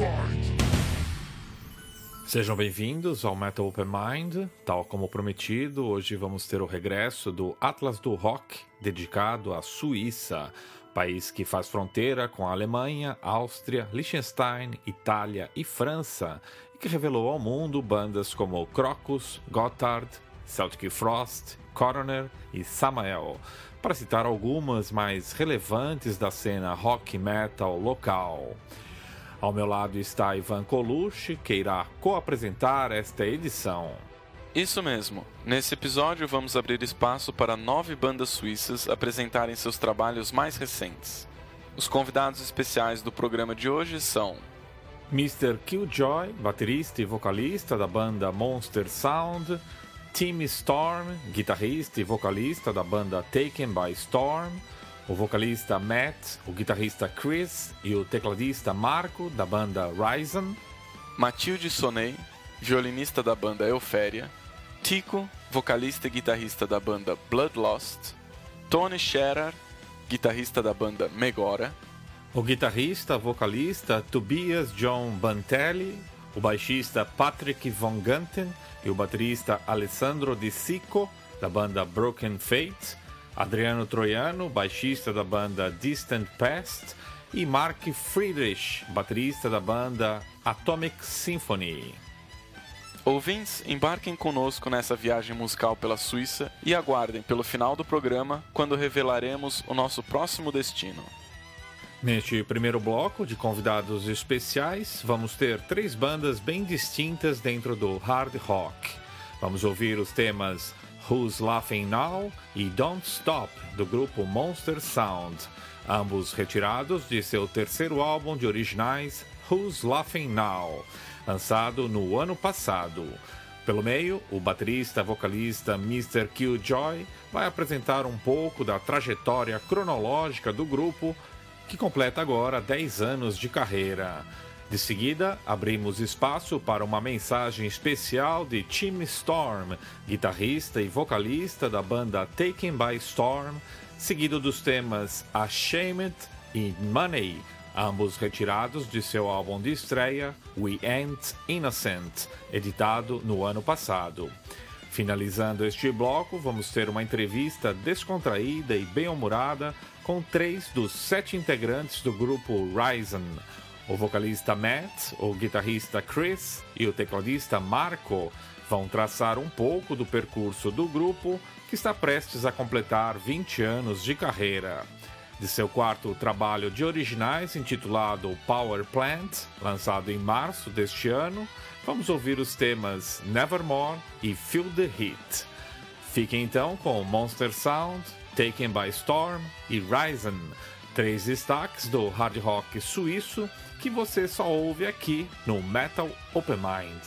Sejam bem-vindos ao Metal Open Mind. Tal como prometido, hoje vamos ter o regresso do Atlas do Rock, dedicado à Suíça, país que faz fronteira com a Alemanha, Áustria, Liechtenstein, Itália e França, e que revelou ao mundo bandas como Crocus, Gotthard, Celtic Frost, Coroner e Samael, para citar algumas mais relevantes da cena rock metal local. Ao meu lado está Ivan Colucci, que irá co-apresentar esta edição. Isso mesmo. Nesse episódio vamos abrir espaço para 9 bandas suíças apresentarem seus trabalhos mais recentes. Os convidados especiais do programa de hoje são Mr. Killjoy, baterista e vocalista da banda Monster Sound, Tim Storm, guitarrista e vocalista da banda Taken by Storm, o vocalista Matt, o guitarrista Chris e o tecladista Marco, da banda Ryzen, Mathilde Sonnet, violinista da banda Euphéria, Tico, vocalista e guitarrista da banda Bloodlost, Tony Scherer, guitarrista da banda Megora, o guitarrista vocalista Tobias John Bantelli, o baixista Patrick Von Ganten e o baterista Alessandro Di Sico, da banda Broken Fate, Adriano Troiano, baixista da banda Distant Past, e Mark Friedrich, baterista da banda Atomic Symphony. Ouvintes, embarquem conosco nessa viagem musical pela Suíça e aguardem pelo final do programa, quando revelaremos o nosso próximo destino. Neste primeiro bloco de convidados especiais, vamos ter 3 bandas bem distintas dentro do hard rock. Vamos ouvir os temas Who's Laughing Now e Don't Stop, do grupo Monster Sound, ambos retirados de seu terceiro álbum de originais, Who's Laughing Now, lançado no ano passado. Pelo meio, o baterista vocalista Mr. Killjoy vai apresentar um pouco da trajetória cronológica do grupo, que completa agora 10 anos de carreira. De seguida, abrimos espaço para uma mensagem especial de Tim Storm, guitarrista e vocalista da banda Taken by Storm, seguido dos temas Ashamed e Money, ambos retirados de seu álbum de estreia We Ain't Innocent, editado no ano passado. Finalizando este bloco, vamos ter uma entrevista descontraída e bem-humorada com 3 dos 7 integrantes do grupo Ryzen. O vocalista Matt, o guitarrista Chris e o tecladista Marco vão traçar um pouco do percurso do grupo, que está prestes a completar 20 anos de carreira. De seu quarto trabalho de originais, intitulado Power Plant, lançado em março deste ano, vamos ouvir os temas Nevermore e Feel the Heat. Fiquem então com Monster Sound, Taken by Storm e Ryzen, 3 destaques do hard rock suíço que você só ouve aqui no Metal Open Mind.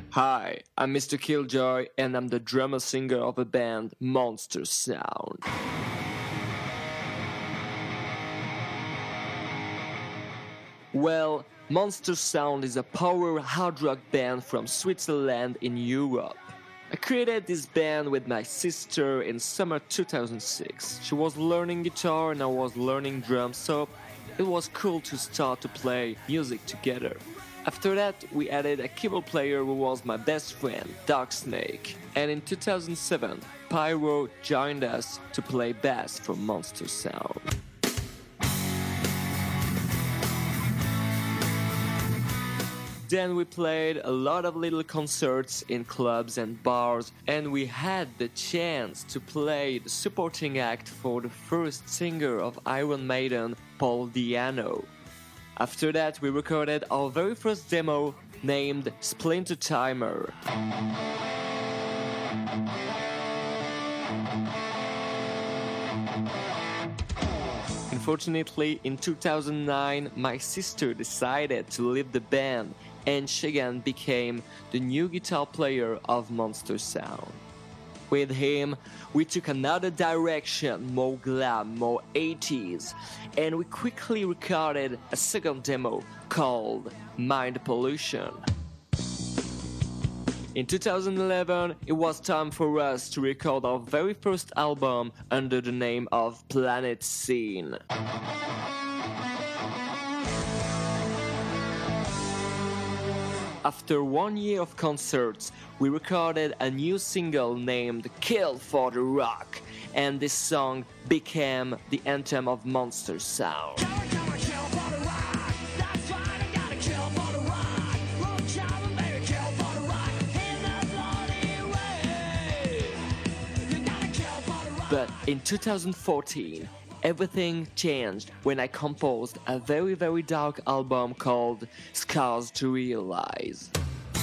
Hi, I'm Mr. Killjoy, and I'm the drummer-singer of the band Monster Sound. Well, Monster Sound is a power hard rock band from Switzerland in Europe. I created this band with my sister in summer 2006. She was learning guitar and I was learning drums, so it was cool to start to play music together. After that, we added a keyboard player who was my best friend, Dark Snake. And in 2007, Pyro joined us to play bass for Monster Sound. Then we played a lot of little concerts in clubs and bars, and we had the chance to play the supporting act for the first singer of Iron Maiden, Paul Di'Anno. After that, we recorded our very first demo named Splinter Timer. Unfortunately, in 2009, my sister decided to leave the band, and Shagan became the new guitar player of Monster Sound. With him, we took another direction, more glam, more 80s, and we quickly recorded a second demo called Mind Pollution. In 2011, it was time for us to record our very first album under the name of Planet Scene. After 1 year of concerts, we recorded a new single named Kill for the Rock, and this song became the anthem of Monster Sound. But in 2014, everything changed when I composed a very, very dark album called Scars to Realize.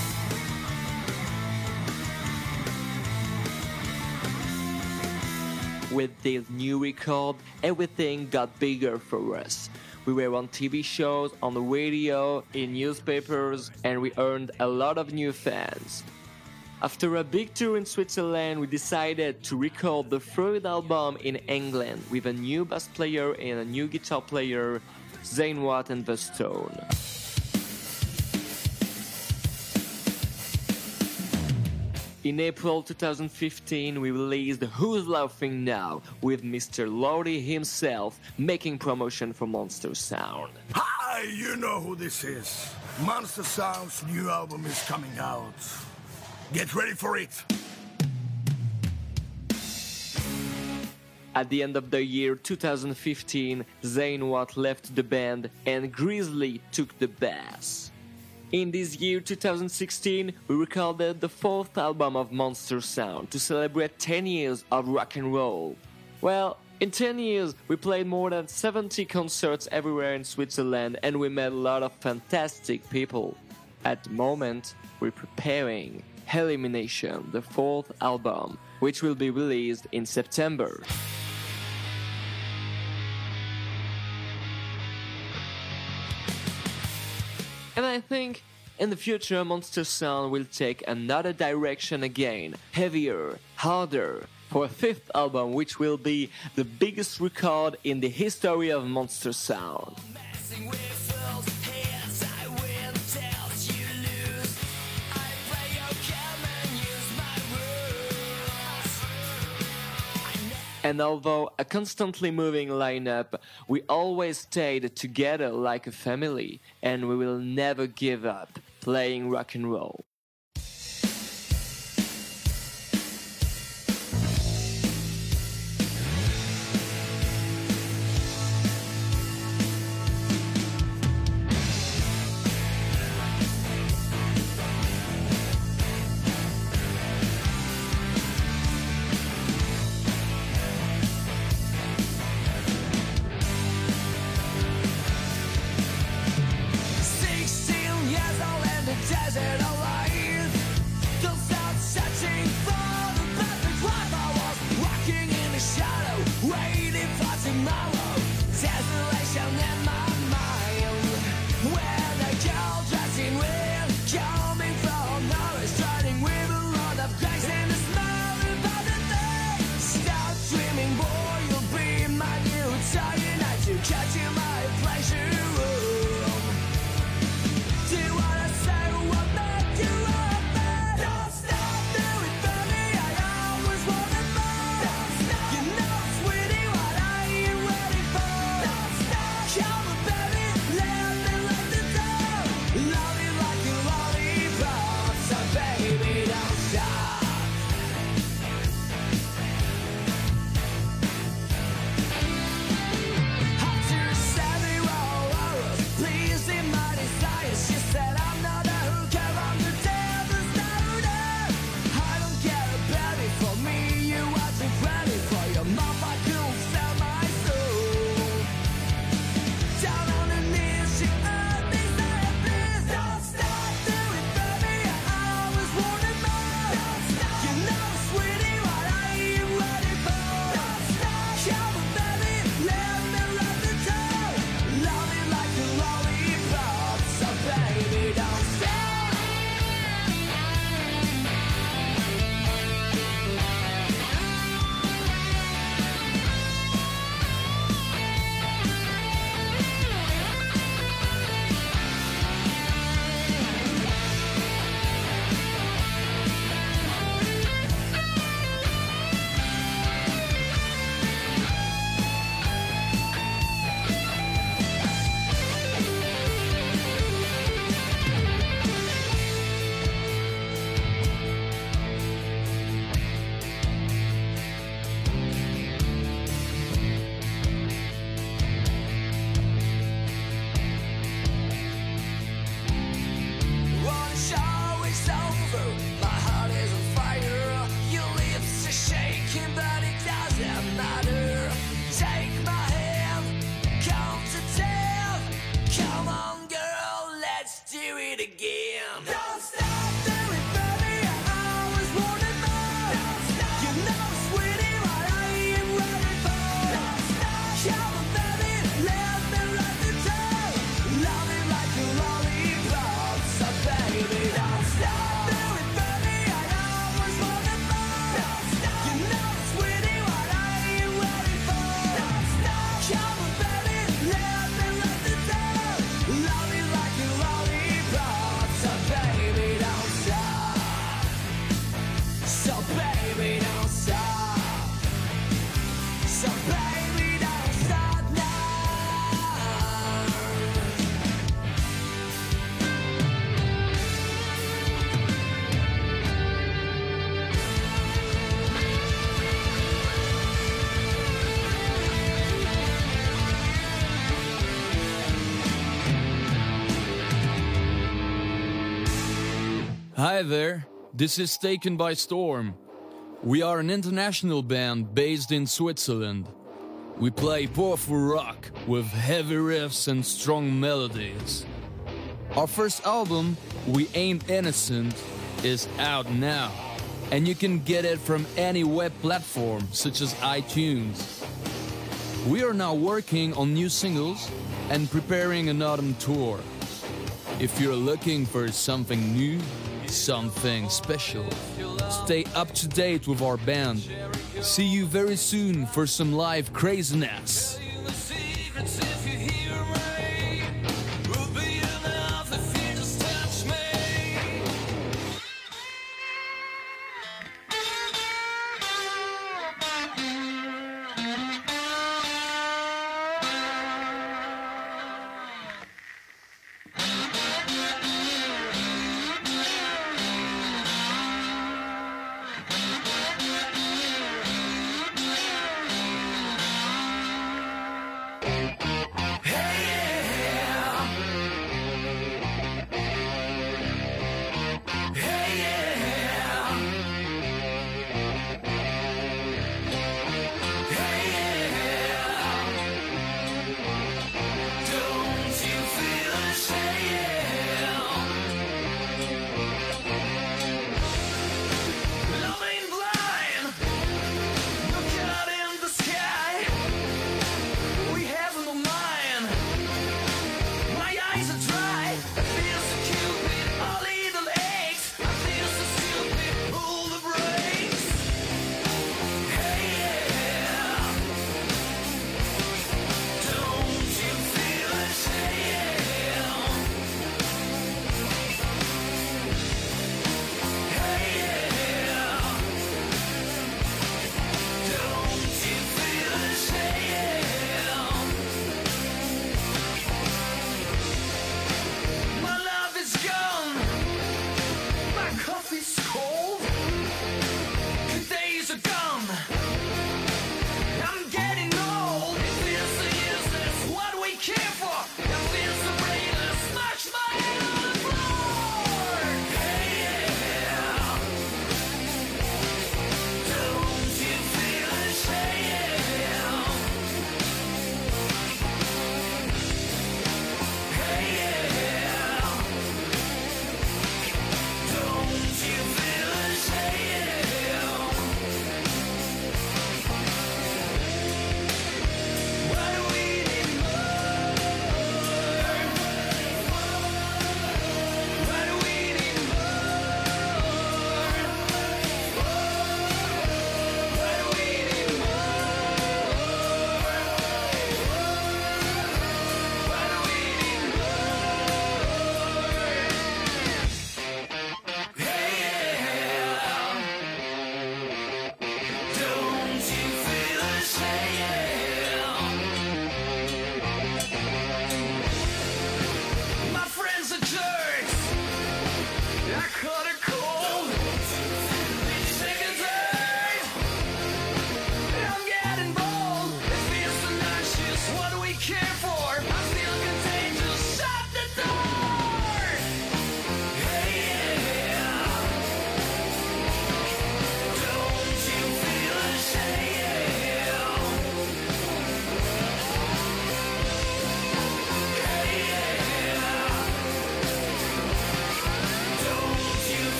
With this new record, everything got bigger for us. We were on TV shows, on the radio, in newspapers, and we earned a lot of new fans. After a big tour in Switzerland, we decided to record the third album in England with a new bass player and a new guitar player, Zane Watt and The Stone. In April 2015, we released Who's Laughing Now with Mr. Lordy himself making promotion for Monster Sound. Hi, you know who this is. Monster Sound's new album is coming out. Get ready for it! At the end of the year 2015, Zane Watt left the band and Grizzly took the bass. In this year 2016, we recorded the fourth album of Monster Sound to celebrate 10 years of rock and roll. Well, in 10 years, we played more than 70 concerts everywhere in Switzerland and we met a lot of fantastic people. At the moment, we're preparing Elimination, the fourth album, which will be released in September. And I think in the future Monster Sound will take another direction again, heavier, harder, for a fifth album which will be the biggest record in the history of Monster Sound. And although a constantly moving lineup, we always stayed together like a family, and we will never give up playing rock and roll. Coming from Norris. Cyanide to catch in my pleasure room. Do what I say, what make you open. Don't stop, do it for me, I always wanted more. Don't stop, you know, sweetie, what are you waiting for? Don't stop, come on, baby, let me let the door. Love you like a lollipop, so baby, don't stop. After 7 hours, pleasing my desires, she said I'm not a hooker, I'm the devil's daughter. I don't care, baby, for me you are too pretty. For your mouth I could sell my soul. Down on the knees, she heard me say, please don't stop, do it for me, I always wanted more. Don't stop, you know, sweetie, what are you waiting for? Don't stop, come on, baby, let me let the door. Love you like a lollipop, so baby, don't stop. One show is over, my heart is on fire. Your lips are shaking, but it doesn't matter. Take my hand, count to 10. Come on, girl, let's do it again. Don't stop, do it for me, I always wanted more. Don't stop, you know, sweetie, what are you waiting for? Don't stop, come on, baby, let me let the door. Love it like a lollipop, so baby, don't stop. Do it for me, I always wanted more. Don't stop, you know, sweetie, what are you waiting for? Don't stop, come on, baby, let me let the door. Love it like a lollipop, so baby, don't stop. So baby, don't stop. So baby, don't stop now. Hi there, this is Taken by Storm. We are an international band based in Switzerland. We play powerful rock with heavy riffs and strong melodies. Our first album, We Ain't Innocent, is out now, and you can get it from any web platform such as iTunes. We are now working on new singles and preparing an autumn tour. If you're looking for something new, something special, stay up to date with our band. See you very soon for some live craziness. Hey,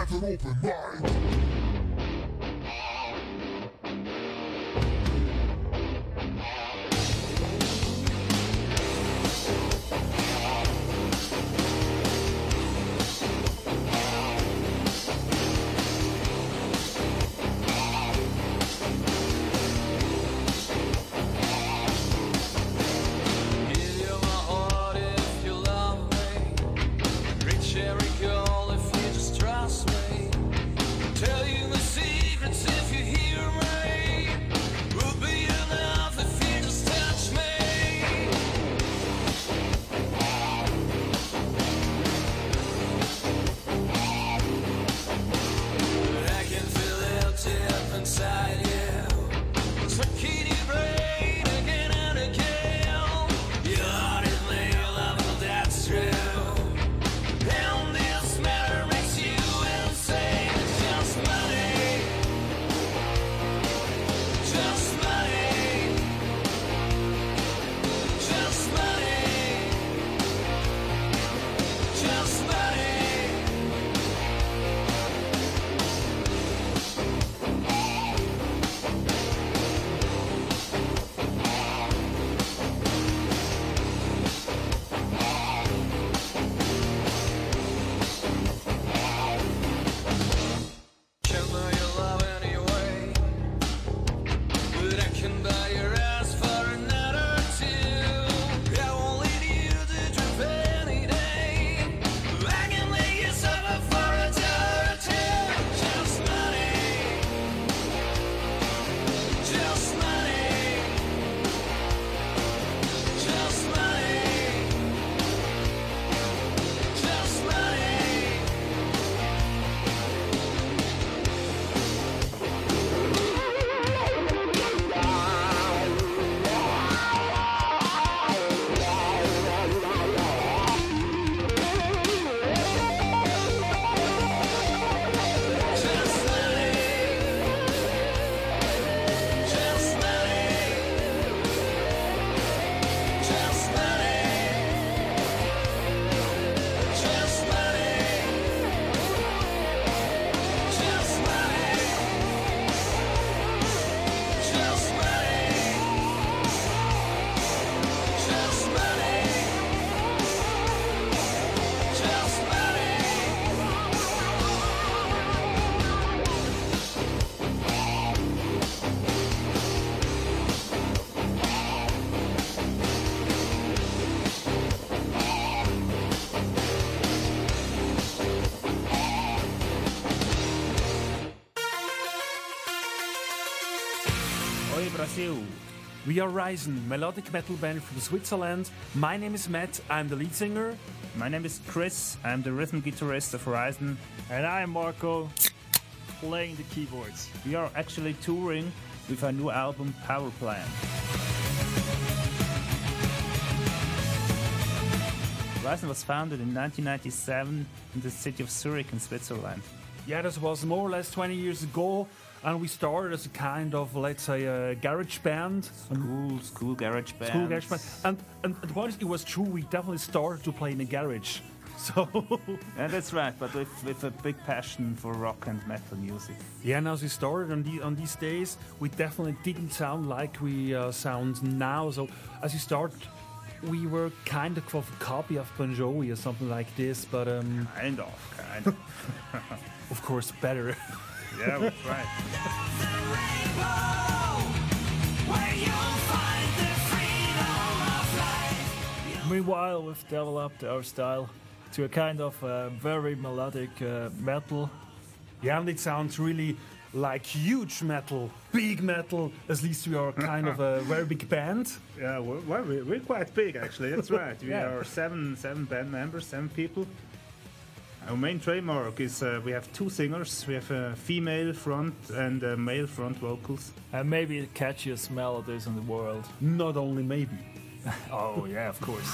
with an open mind. Brasil. We are Ryzen, melodic metal band from Switzerland. My name is Matt, I'm the lead singer. My name is Chris, I'm the rhythm guitarist of Ryzen. And I'm Marco, playing the keyboards. We are actually touring with our new album, Power Plant. Ryzen was founded in 1997 in the city of Zurich in Switzerland. Yeah, this was more or less 20 years ago. And we started as a kind of, let's say, a garage band. School garage band. School garage band. And once it was true, we definitely started to play in a garage. So yeah, that's right, but with a big passion for rock and metal music. Yeah, and as we started on these days, we definitely didn't sound like we sound now. So as we started, we were kind of a copy of Bon Jovi or something like this, but kind of. Of course, better. Yeah, that's right. Meanwhile, we've developed our style to a kind of very melodic metal. Yeah, and it sounds really like huge metal, big metal. At least we are kind of a very big band. Yeah, we're quite big actually. That's right. We are seven band members, 7 people. Our main trademark is we have 2 singers. We have a female front and a male front vocals. And maybe the catchiest melodies in the world. Not only maybe. Oh yeah, of course.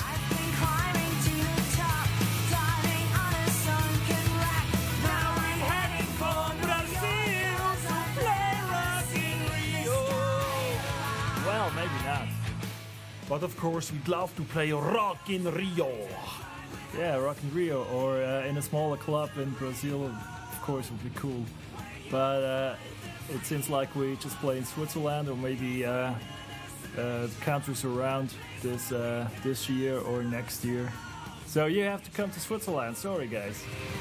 Well, maybe not. But of course, we'd love to play Rock in Rio. Yeah, Rock in Rio, or in a smaller club in Brazil. Of course, would be cool. But it seems like we just play in Switzerland or maybe the countries around this year or next year. So you have to come to Switzerland. Sorry, guys.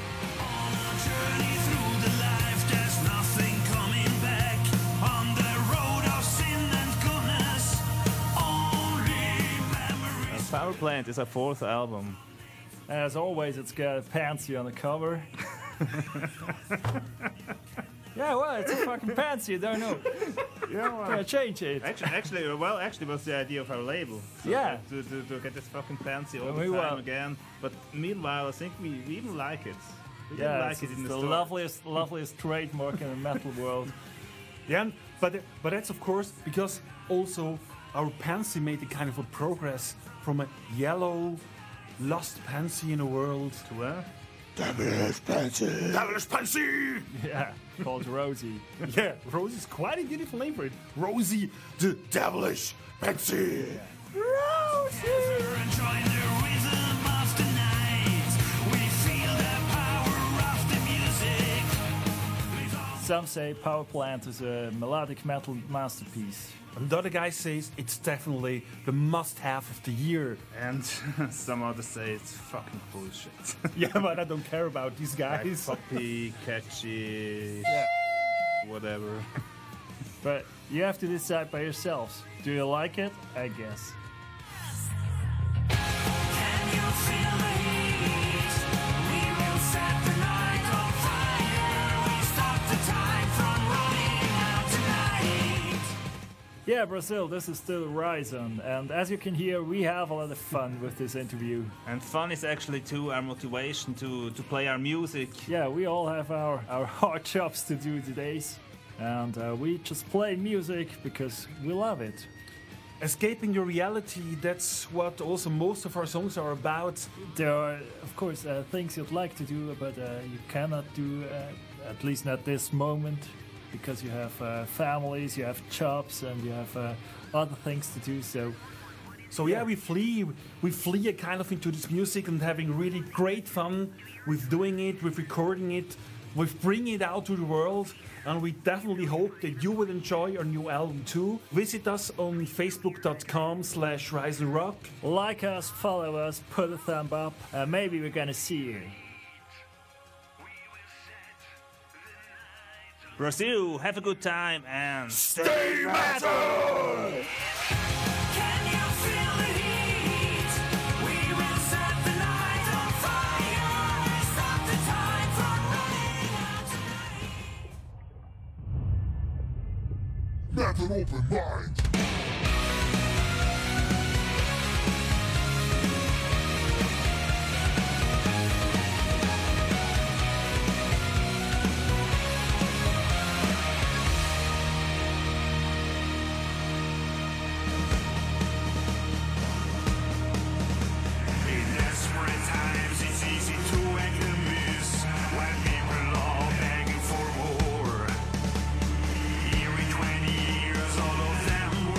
Power Plant is our 4th album. As always, it's got Pansy on the cover. Yeah, well, it's a fucking Pansy, you don't know. Yeah, change it. Actually, it was the idea of our label. So yeah. To get this fucking Pansy all the time again. But meanwhile, I think we even like it. We like it in the store. loveliest trademark in the metal world. Yeah, but that's of course because also our Pansy made a kind of a progress from a yellow, lost Pansy in a world to a devilish Pansy. Devilish Pansy! Yeah, called Rosie. Yeah, Rosie's quite a beautiful name for it. Rosie, the devilish Pansy. Yeah. Rosie! Some say Power Plant is a melodic metal masterpiece. And the other guy says it's definitely the must-have of the year. And some others say it's fucking bullshit. Yeah, but I don't care about these guys. Like poppy, catchy, whatever. But you have to decide by yourselves. Do you like it? I guess. Yeah, Brazil, this is still Horizon, and as you can hear, we have a lot of fun with this interview. And fun is actually too our motivation to play our music. Yeah, we all have our hard jobs to do today, and we just play music because we love it. Escaping your reality, that's what also most of our songs are about. There are, of course, things you'd like to do, but you cannot do, at least not this moment. Because you have families, you have jobs, and you have other things to do. So yeah, we flee kind of into this music and having really great fun with doing it, with recording it, with bringing it out to the world. And we definitely hope that you will enjoy our new album too. Visit us on facebook.com/RiseandRock. Like us, follow us, put a thumb up, and maybe we're gonna see you. Brazil, have a good time and stay metal! Can you feel the heat? We will set the night on fire. Stop the time from running out tonight. Metal open mind! Every 20 years, all of them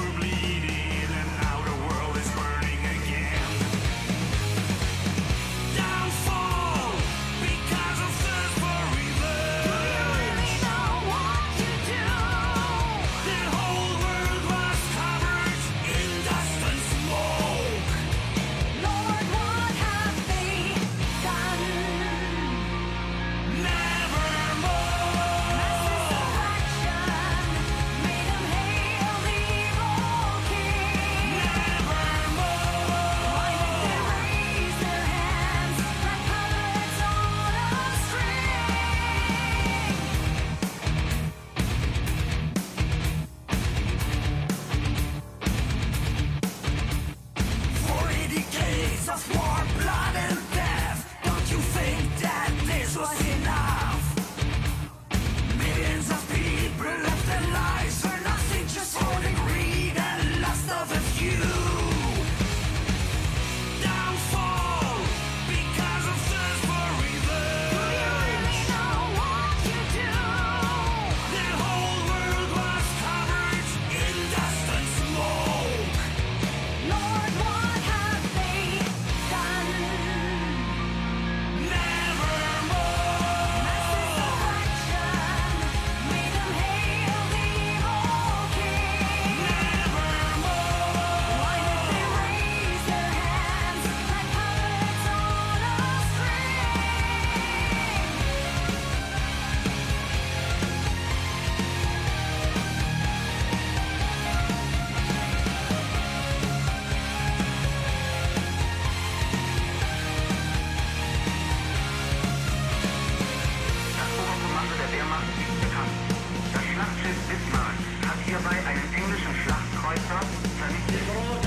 Bismarck hat hierbei einen englischen Schlachtkreuzer vernichtet.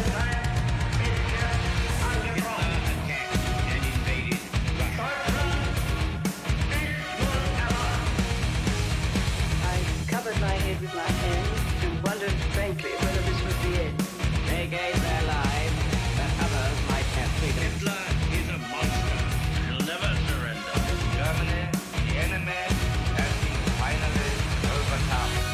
I covered my head with my hands and wondered frankly whether this was the end. They gave their lives that others might have freedom. Hitler is a monster. He'll never surrender. Germany, the enemy, has been finally overcome.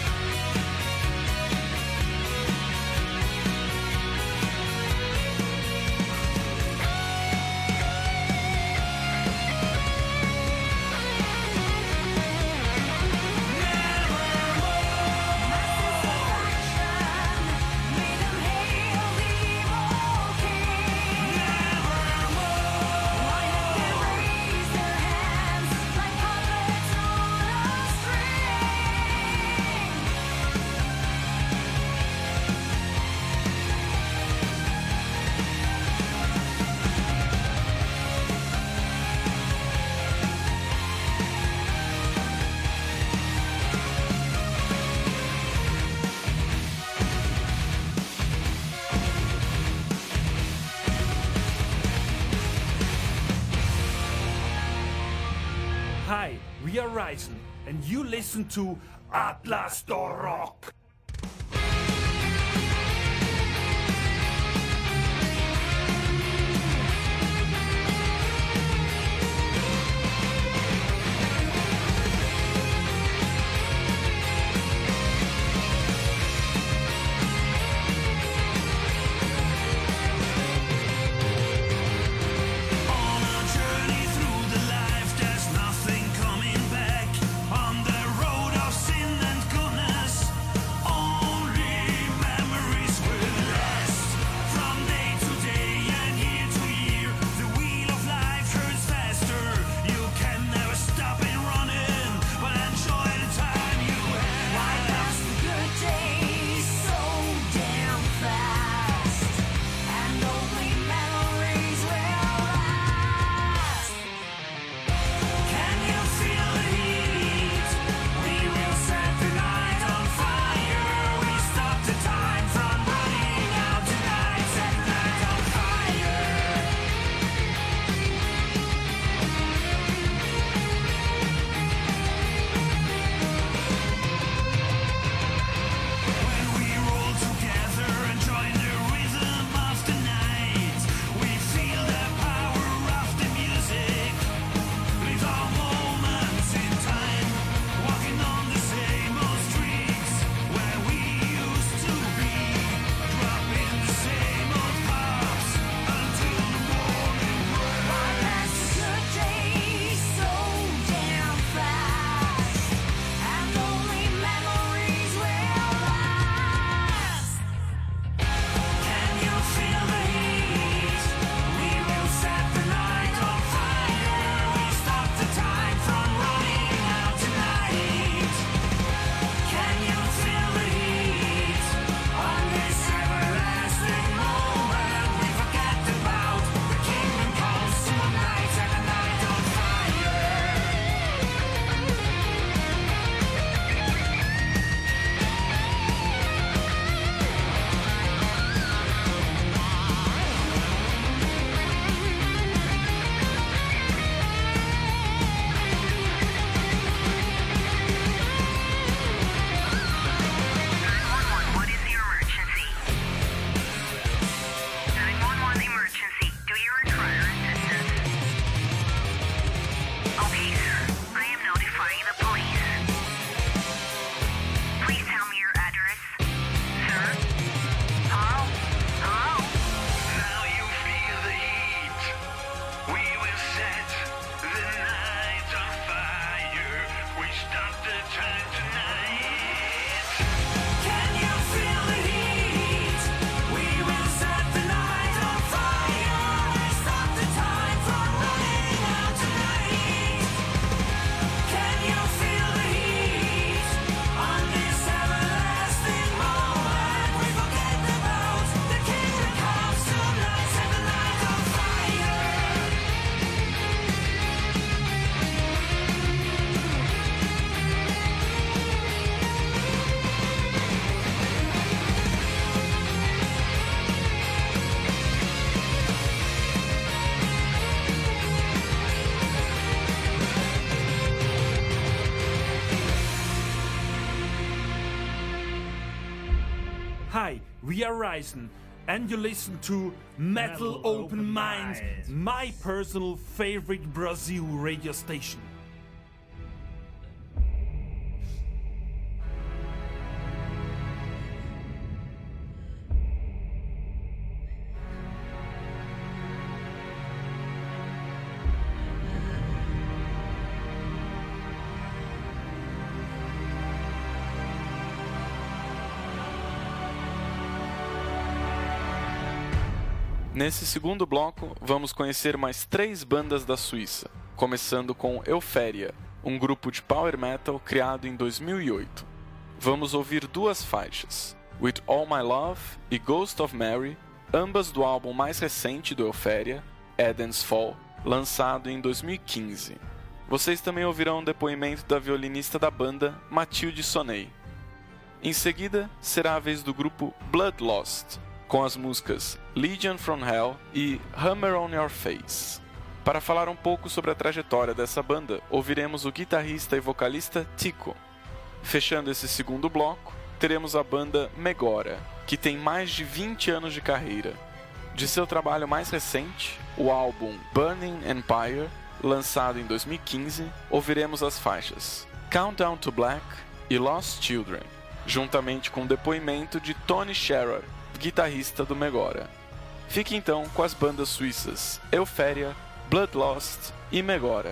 Hi, we are Ryzen, and you listen to Atlas Rock. Nothing coming back on the road of sin and goodness. Hi, we are Ryzen, and you listen to Metal Open Mind, my personal favorite Brazil radio station. Nesse segundo bloco, vamos conhecer mais 3 bandas da Suíça, começando com Euphoria, um grupo de power metal criado em 2008. Vamos ouvir 2 faixas, With All My Love e Ghost of Mary, ambas do álbum mais recente do Euphoria, Eden's Fall, lançado em 2015. Vocês também ouvirão um depoimento da violinista da banda, Mathilde Sonnet. Em seguida, será a vez do grupo Bloodlost, com as músicas Legion from Hell e Hammer on Your Face. Para falar um pouco sobre a trajetória dessa banda, ouviremos o guitarrista e vocalista Tico. Fechando esse segundo bloco, teremos a banda Megora, que tem mais de 20 anos de carreira. De seu trabalho mais recente, o álbum Burning Empire, lançado em 2015, ouviremos as faixas Countdown to Black e Lost Children, juntamente com o depoimento de Tony Scherer, guitarrista do Megora. Fique então com as bandas suíças Euphoria, Bloodlost e Megora.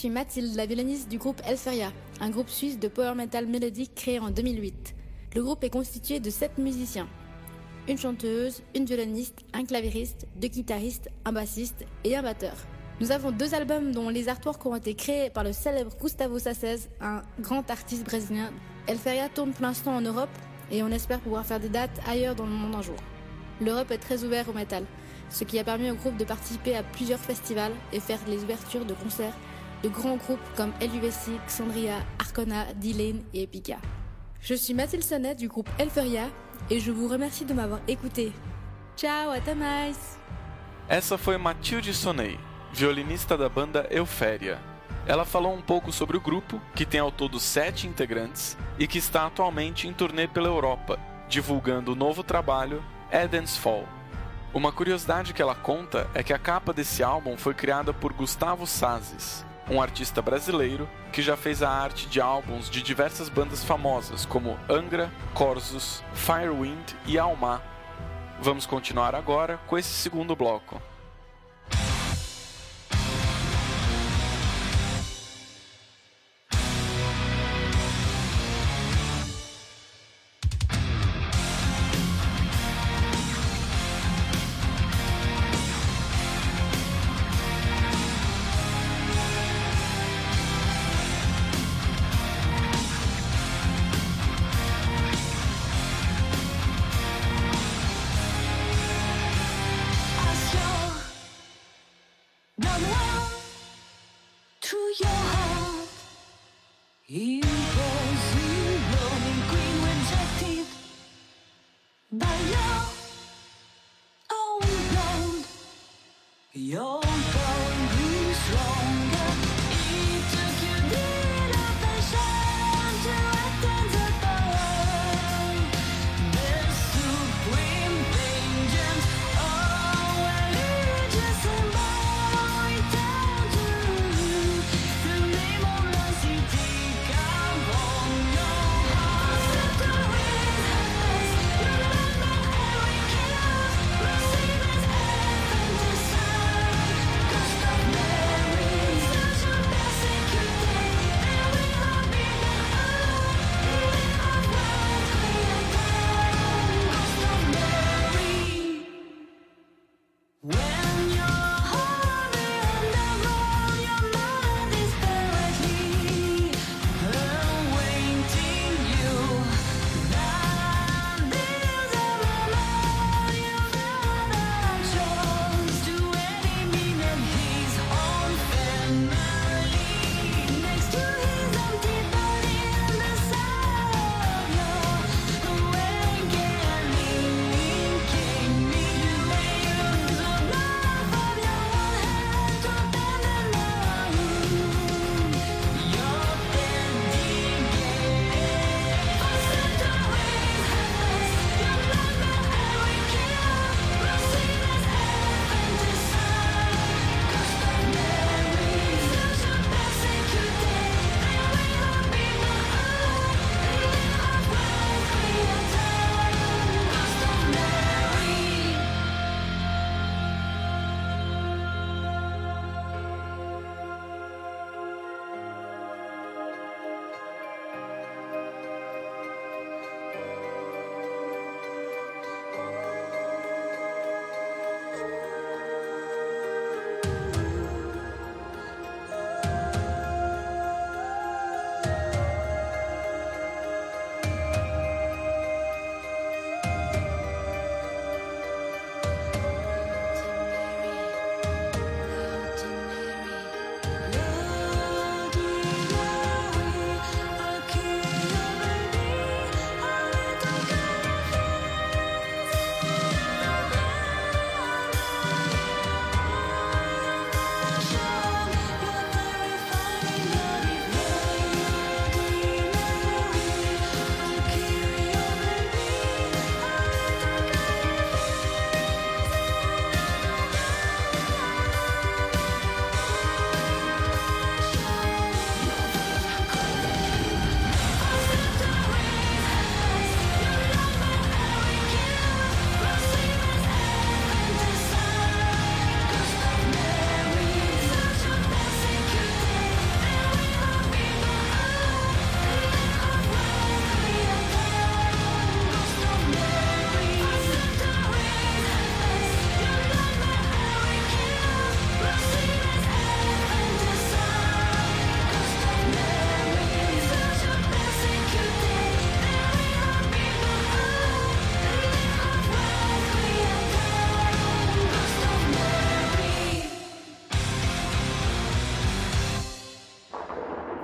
suis Mathilde, la violoniste du groupe Elferia, un groupe suisse de power metal mélodique créé en 2008. Le groupe est constitué de 7 musiciens. Une chanteuse, une violoniste, un clavieriste, 2 guitaristes, un bassiste et un batteur. Nous avons 2 albums dont les artworks ont été créés par le célèbre Gustavo Sacez, un grand artiste brésilien. Elferia tourne pour l'instant en Europe et on espère pouvoir faire des dates ailleurs dans le monde un jour. L'Europe est très ouverte au métal, ce qui a permis au groupe de participer à plusieurs festivals et faire les ouvertures de concerts de grands groupes comme LUVC, Xandria, Arcona, D-Lane et Epica. Je suis Mathilde Sonnet du groupe Elferia e je vous remercie de m'avoir écouté. Tchau, até mais! Essa foi Mathilde Sonnet, violinista da banda Euphéria. Ela falou um pouco sobre o grupo, que tem ao todo 7 integrantes e que está atualmente em turnê pela Europa, divulgando o novo trabalho Eden's Fall. Uma curiosidade que ela conta é que a capa desse álbum foi criada por Gustavo Sacez, um artista brasileiro que já fez a arte de álbuns de diversas bandas famosas como Angra, Corsos, Firewind e Alma. Vamos continuar agora com esse segundo bloco.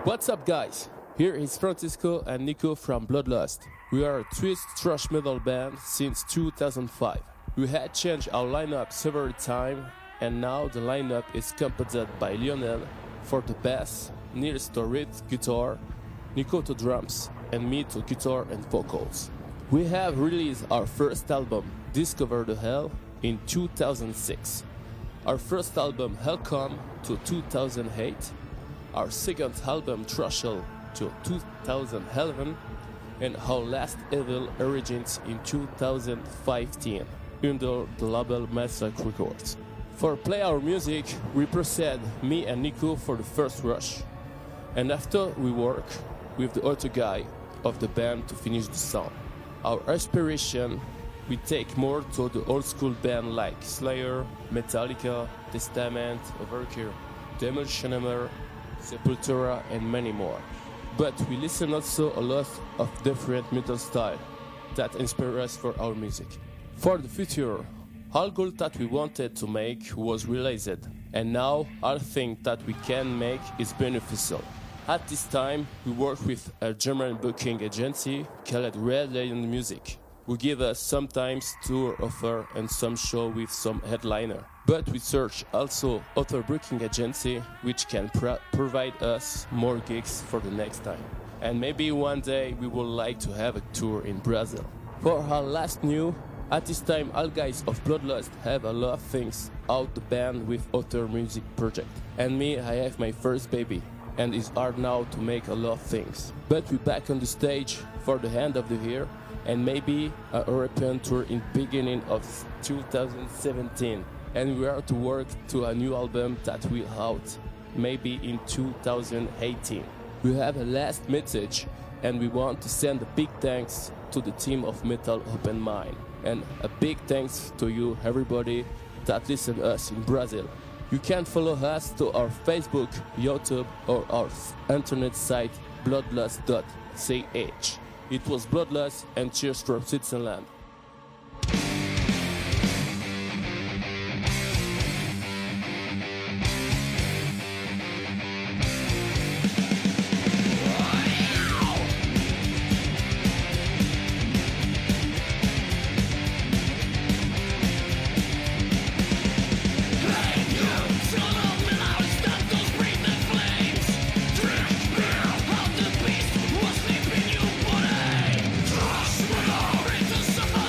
What's up, guys? Here is Francisco and Nico from Bloodlust. We are a twist thrash metal band since 2005. We had changed our lineup several times, and now the lineup is composed by Lionel for the bass, Nils to rhythm guitar, Nico to drums, and me to guitar and vocals. We have released our first album, Discover the Hell, in 2006. Our first album, Hellcom, to 2008. Our second album, Thrushel, to 2011. And our last Evil Origins in 2015 under the label Massacre Records. For Play Our Music, we proceed me and Nico for the first rush. And after we work with the other guy of the band to finish the song. Our inspiration, we take more to the old school band like Slayer, Metallica, Testament, Overkill, Demolition Hammer, Sepultura and many more. But we listen also a lot of different metal styles that inspire us for our music. For the future, all goal that we wanted to make was realized, and now all thing that we can make is beneficial. At this time, we work with a German booking agency called Red Lion Music, who give us sometimes tour offer and some show with some headliner. But we search also other booking agency which can provide us more gigs for the next time. And maybe one day we would like to have a tour in Brazil. For our last new, at this time all guys of Bloodlust have a lot of things out the band with other music project. And me, I have my first baby. And it's hard now to make a lot of things. But we're back on the stage for the end of the year and maybe a European tour in beginning of 2017. And we are to work to a new album that will out maybe in 2018. We have a last message and we want to send a big thanks to the team of Metal Open Mind. And a big thanks to you everybody that listen to us in Brazil. You can follow us to our Facebook, YouTube, or our internet site bloodlust.ch. It was Bloodlust and cheers from Switzerland. Some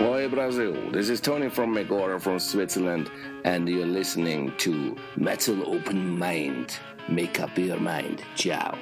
Oi Brazil, this is Tony from Megora from Switzerland, and you're listening to Metal Open Mind. Make up your mind. Ciao.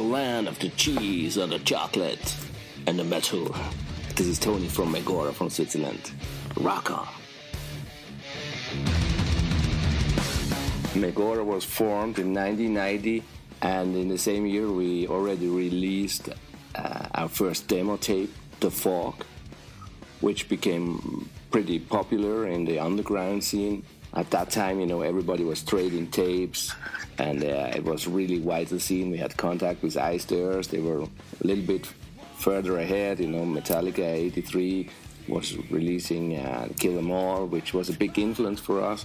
land of the cheese and the chocolate and the metal. This is Tony from Megora from Switzerland. Rock on. Megora was formed in 1990, and in the same year we already released our first demo tape, The Fog, which became pretty popular in the underground scene. At that time, everybody was trading tapes, and it was really vital scene. We had contact with Iced Earth. They were a little bit further ahead. Metallica 83 was releasing Kill 'Em All, which was a big influence for us.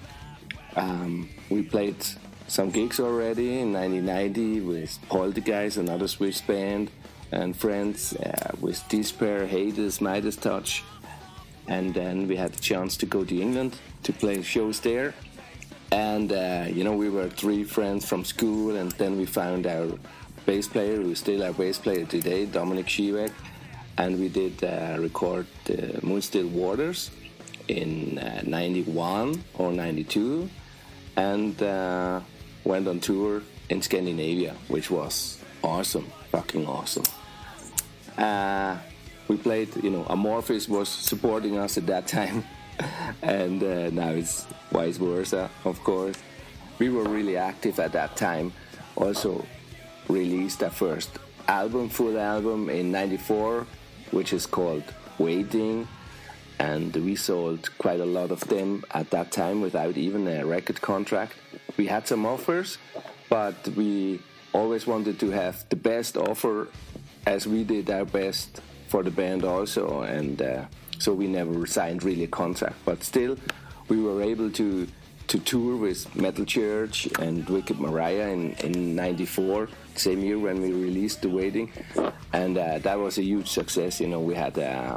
We played some gigs already in 1990 with Poltergeist, another Swiss band, and friends, with Despair, Hades, Midas Touch. And then we had the chance to go to England to play shows there. And, we were 3 friends from school, and then we found our bass player, who's still our bass player today, Dominic Schiewek, and we did record Moonstill Waters in 91 or 92, and went on tour in Scandinavia, which was awesome, fucking awesome. We played, Amorphis was supporting us at that time, and now it's vice versa, of course. We were really active at that time. Also released our first full album in 94, which is called Waiting, and we sold quite a lot of them at that time without even a record contract. We had some offers, but we always wanted to have the best offer, as we did our best for the band also, and so we never signed really a contract, but still we were able to tour with Metal Church and Wicked Mariah in 94, same year when we released The Waiting, and that was a huge success. We had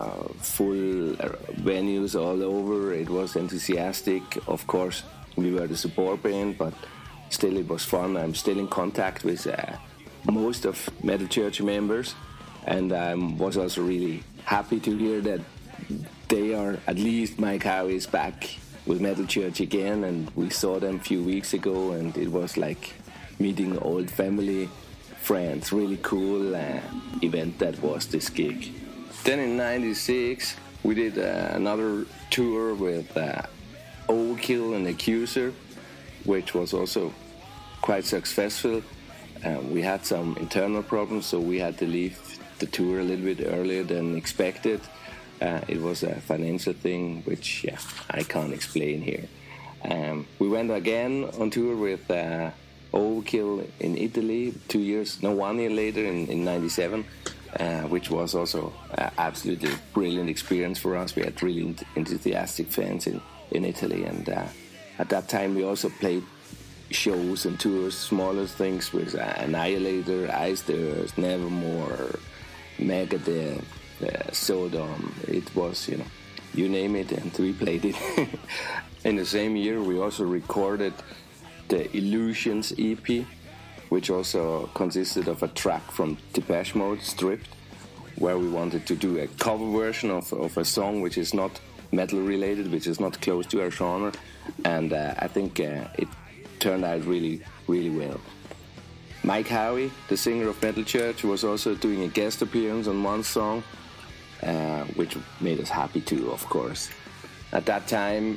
full venues all over. It was enthusiastic. Of course, we were the support band, but still it was fun. I'm still in contact with most of Metal Church members, and I was also really happy to hear that they are, at least Mike Howie is back with Metal Church again, and we saw them a few weeks ago, and it was like meeting old family friends. Really cool event that was this gig. Then in 96 we did another tour with Overkill and Accuser, which was also quite successful. We had some internal problems, so we had to leave the tour a little bit earlier than expected. It was a financial thing, which I can't explain here. We went again on tour with Overkill in Italy 1 year later in 97, which was also absolutely brilliant experience for us. We had really enthusiastic fans in Italy, and at that time we also played shows and tours, smaller things with Annihilator, Iced Earth, Nevermore, Megadeth, Sodom. It was, you name it, and we played it. In the same year we also recorded the Illusions EP, which also consisted of a track from Depeche Mode, Stripped, where we wanted to do a cover version of a song which is not metal related, which is not close to our genre, and I think it turned out really, really well. Mike Howie, the singer of Metal Church, was also doing a guest appearance on one song, which made us happy too, of course. At that time,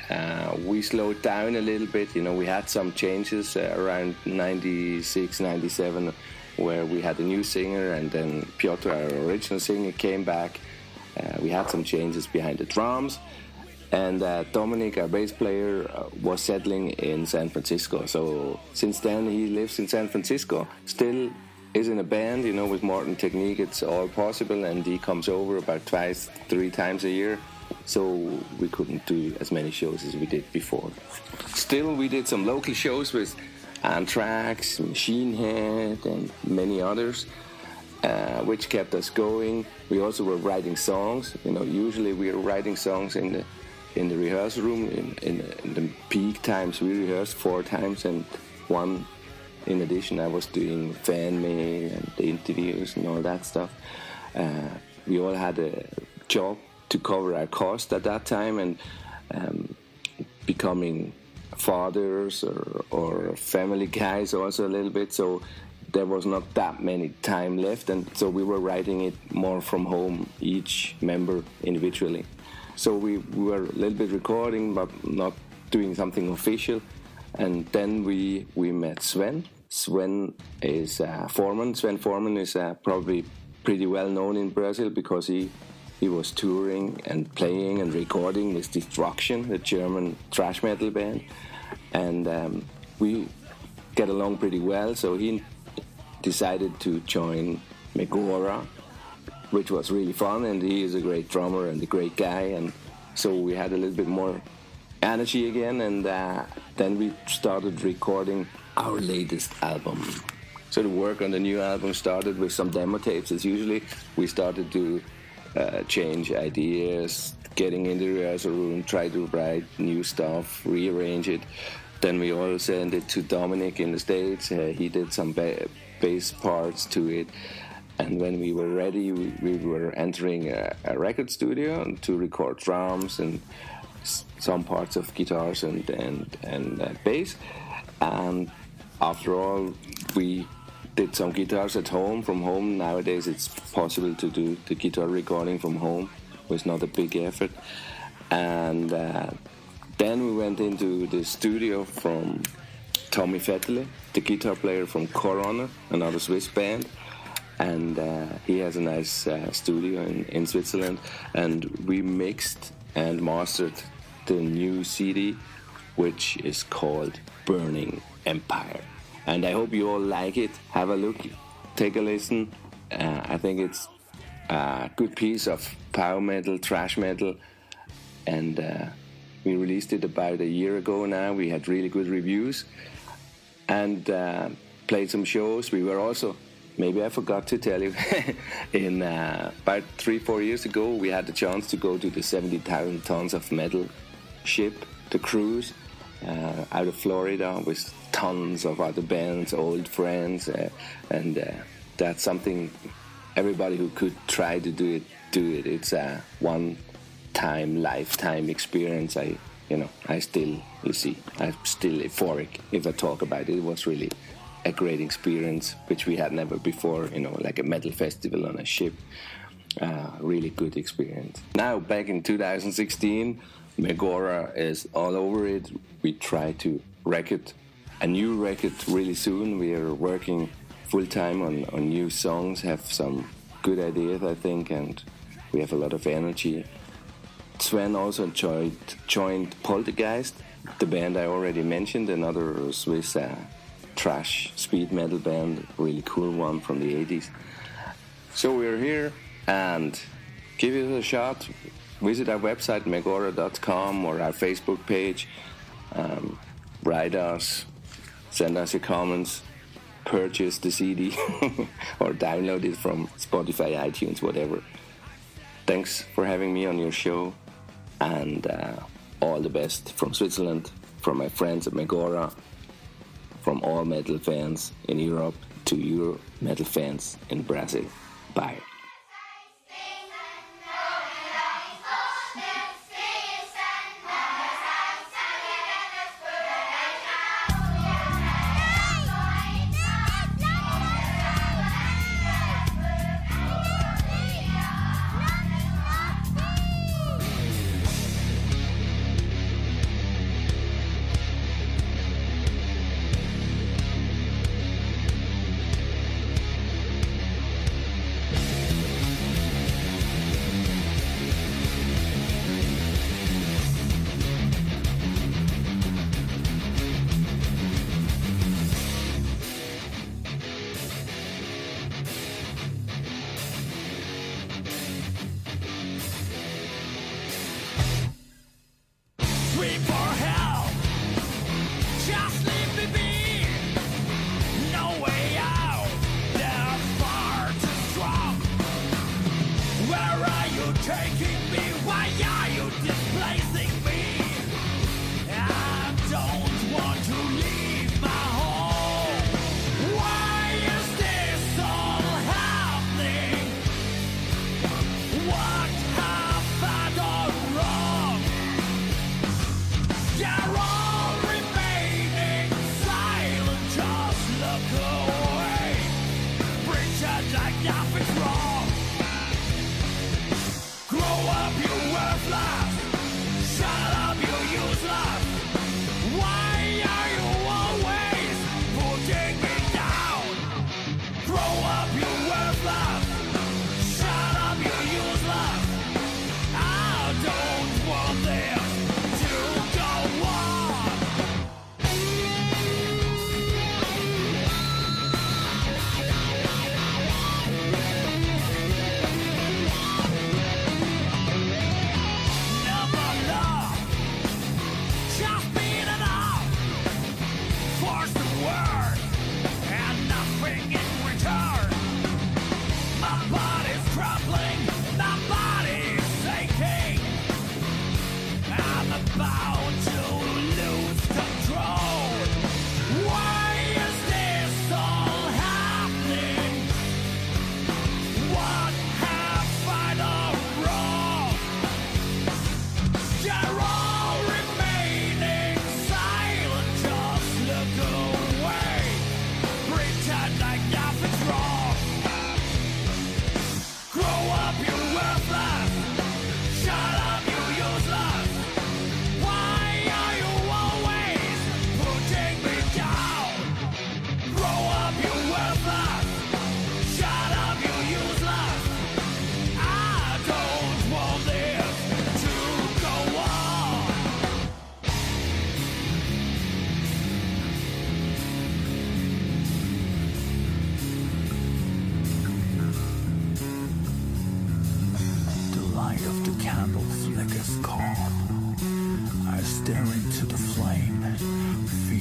we slowed down a little bit. We had some changes around 96, 97, where we had a new singer, and then Piotr, our original singer, came back. We had some changes behind the drums, and Dominic, our bass player, was settling in San Francisco. So since then he lives in San Francisco, still is in a band, with Morton Technique. It's all possible, and he comes over about 2-3 times a year. So we couldn't do as many shows as we did before. Still, we did some local shows with Anthrax, Machine Head, and many others, which kept us going. We also were writing songs. Usually we are writing songs in the rehearsal room. In the peak times, we rehearsed 4 times, and one, in addition, I was doing fan mail and the interviews and all that stuff. We all had a job to cover our cost at that time, and becoming fathers or family guys also a little bit. So there was not that many time left, and so we were writing it more from home, each member individually. So we were a little bit recording, but not doing something official. And then we met Sven. Sven is Foreman. Sven Foreman is probably pretty well known in Brazil because he was touring and playing and recording with Destruction, the German thrash metal band. And we get along pretty well, so he decided to join Megora, which was really fun, and he is a great drummer and a great guy, and so we had a little bit more energy again, and then we started recording our latest album. So the work on the new album started with some demo tapes. As usually, we started to change ideas, getting in the rehearsal room, try to write new stuff, rearrange it. Then we all sent it to Dominic in the States. He did some bass parts to it. And when we were ready, we were entering a record studio to record drums and some parts of guitars and bass. And after all, we did some guitars at home, from home. Nowadays it's possible to do the guitar recording from home. It was not a big effort. And then we went into the studio from Tommy Vettele, the guitar player from Corona, another Swiss band. And he has a nice studio in Switzerland. And we mixed and mastered the new CD, which is called Burning Empire. And I hope you all like it. Have a look, take a listen. I think it's a good piece of power metal, thrash metal. And we released it about a year ago now. We had really good reviews and played some shows. We were also, maybe I forgot to tell you, in about 3-4 years ago, we had the chance to go to the 70,000 tons of metal ship, the cruise, out of Florida with tons of other bands, old friends, and that's something everybody who could try to do it. It's a one-time, lifetime experience. I'm still euphoric if I talk about it. It was really a great experience, which we had never before, like a metal festival on a ship. Really good experience. Now, back in 2016, Megora is all over it. We try to record a new record really soon. We are working full-time on new songs, have some good ideas, I think, and we have a lot of energy. Sven also joined Poltergeist, the band I already mentioned, another Swiss thrash speed metal band, really cool one from the 80s. So we're here, and give it a shot. Visit our website, megora.com, or our Facebook page. Write us, send us your comments, purchase the CD, or download it from Spotify, iTunes, whatever. Thanks for having me on your show, and all the best from Switzerland, from my friends at Megora, from all metal fans in Europe to your metal fans in Brazil. Bye.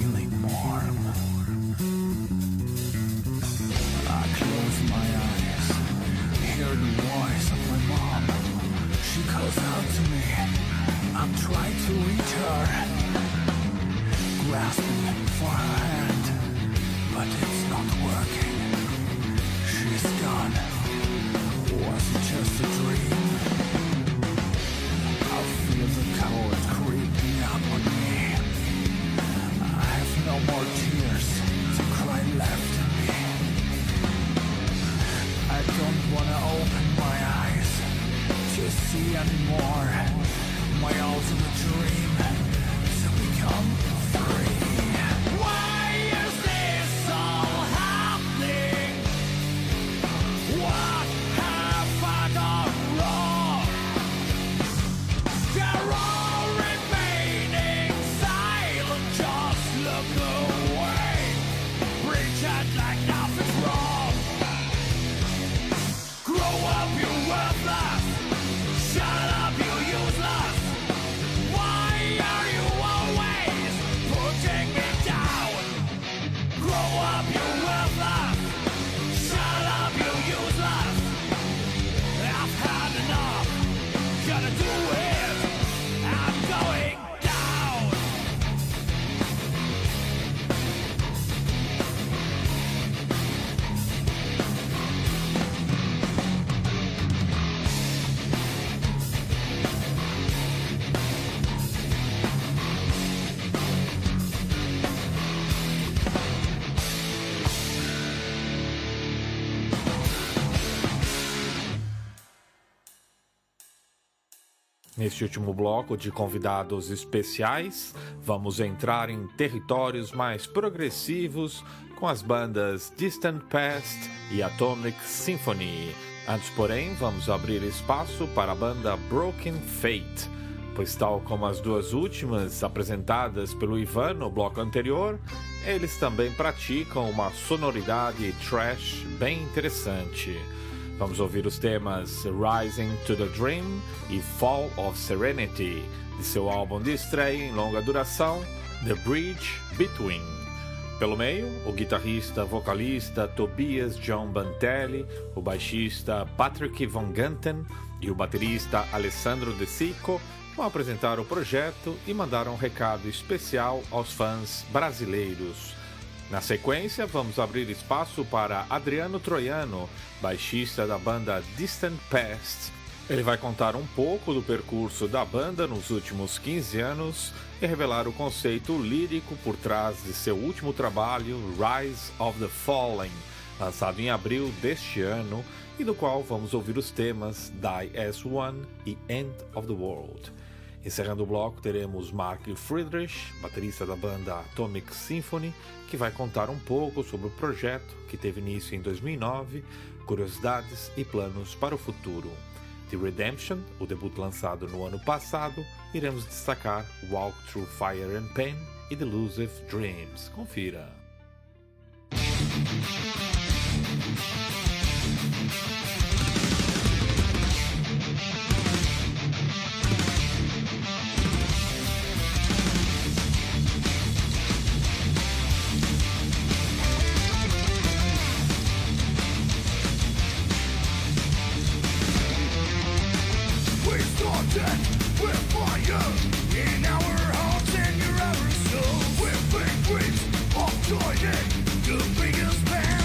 feeling warm. I close my eyes, hear the voice of my mom. She calls out to me, I'm trying to reach her, grasping for her hand, but it's not working. She's gone. Was it just a dream? I feel the cold creeping up on me. I have no more tears to cry left in me. I don't wanna open my eyes to see anymore. My ultimate dream is to become free. Why is this all happening? What have I done wrong? They're all remaining silent, just look away, pretend like nothing's wrong. Grow up, you're worthless. Shut up, you useless. Why are you always putting me down? Grow up, you're worthless. Shut up, you useless. I've had enough. Gotta do it. I'm going down. Neste último bloco de convidados especiais, vamos entrar em territórios mais progressivos com as bandas Distant Past e Atomic Symphony. Antes, porém, vamos abrir espaço para a banda Broken Fate, pois tal como as duas últimas apresentadas pelo Ivan no bloco anterior, eles também praticam uma sonoridade thrash bem interessante. Vamos ouvir os temas Rising to the Dream e Fall of Serenity, de seu álbum de estreia em longa duração, The Bridge Between. Pelo meio, o guitarrista vocalista Tobias John Bantelli, o baixista Patrick Von Ganten e o baterista Alessandro De Sico vão apresentar o projeto e mandar um recado especial aos fãs brasileiros. Na sequência, vamos abrir espaço para Adriano Troiano, baixista da banda Distant Past. Ele vai contar um pouco do percurso da banda nos últimos 15 anos e revelar o conceito lírico por trás de seu último trabalho, Rise of the Fallen, lançado em abril deste ano, e do qual vamos ouvir os temas Die as One e End of the World. Encerrando o bloco, teremos Mark Friedrich, baterista da banda Atomic Symphony, que vai contar um pouco sobre o projeto que teve início em 2009, curiosidades e planos para o futuro. De Redemption, o debut lançado no ano passado, iremos destacar Walk Through Fire and Pain e Delusive Dreams. Confira! With fire in our hearts and your outer soul, we're big dreams of joining the biggest band.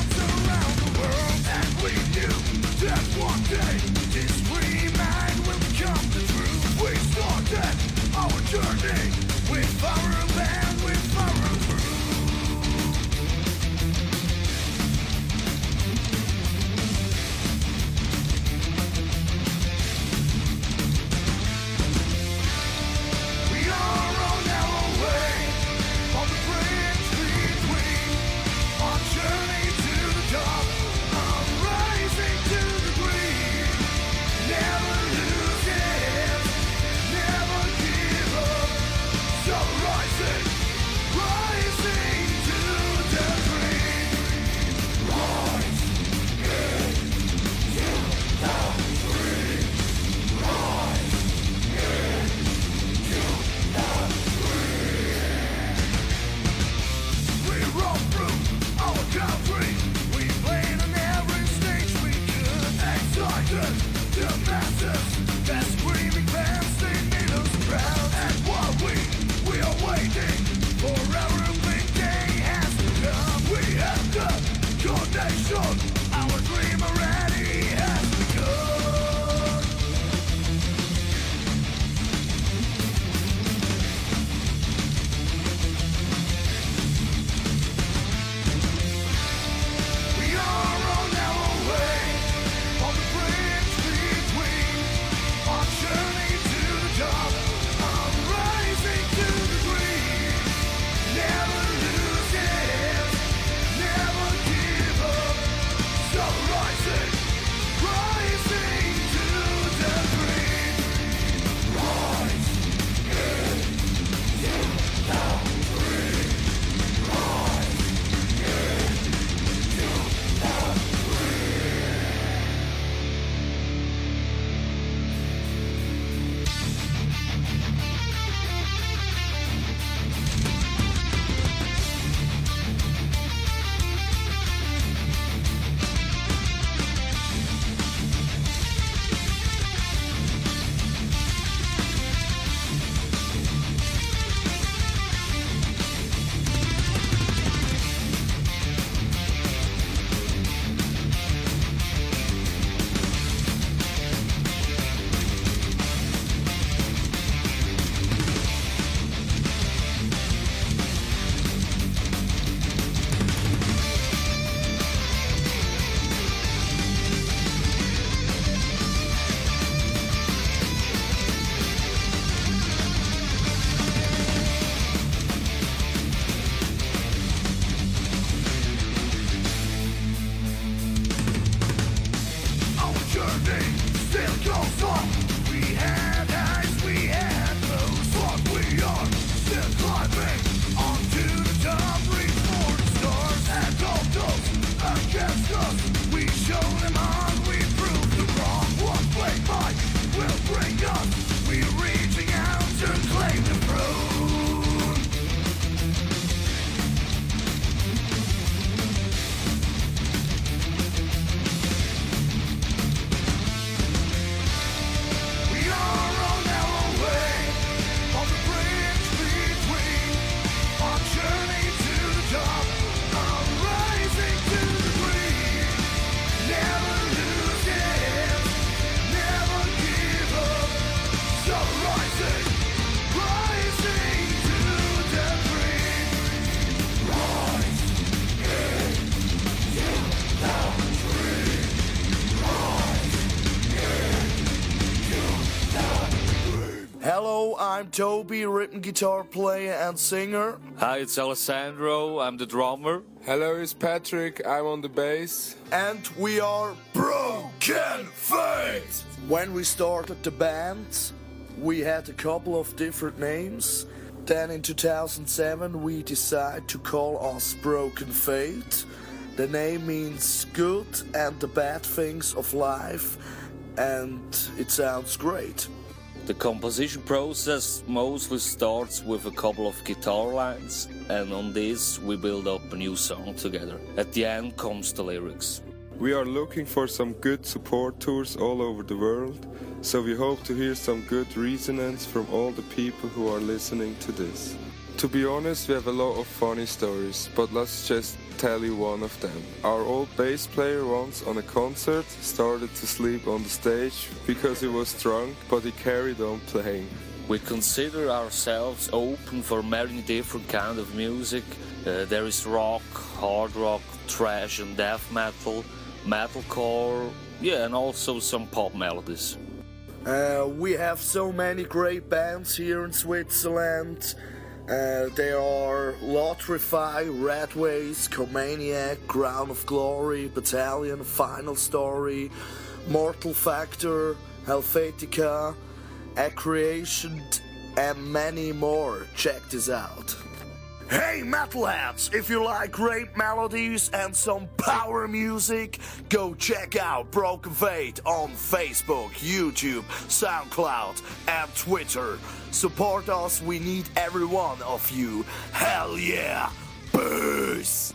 I'm Toby, rhythm guitar player and singer. Hi, it's Alessandro, I'm the drummer. Hello, it's Patrick, I'm on the bass. And we are Broken Fate! When we started the band, we had a couple of different names. Then in 2007 we decided to call us Broken Fate. The name means good and the bad things of life, and it sounds great. The composition process mostly starts with a couple of guitar lines, and on this we build up a new song together. At the end comes the lyrics. We are looking for some good support tours all over the world, so we hope to hear some good resonance from all the people who are listening to this. To be honest, we have a lot of funny stories, but let's just tell you one of them. Our old bass player once on a concert started to sleep on the stage because he was drunk, but he carried on playing. We consider ourselves open for many different kinds of music. There is rock, hard rock, thrash and death metal, metalcore, and also some pop melodies. We have so many great bands here in Switzerland. There are Lotrify, Radways, Comaniac, Crown of Glory, Battalion, Final Story, Mortal Factor, Helvetica, Accreation, and many more. Check this out. Hey metalheads, if you like great melodies and some power music, go check out Broken Fate on Facebook, YouTube, SoundCloud and Twitter. Support us, we need every one of you. Hell yeah! Peace!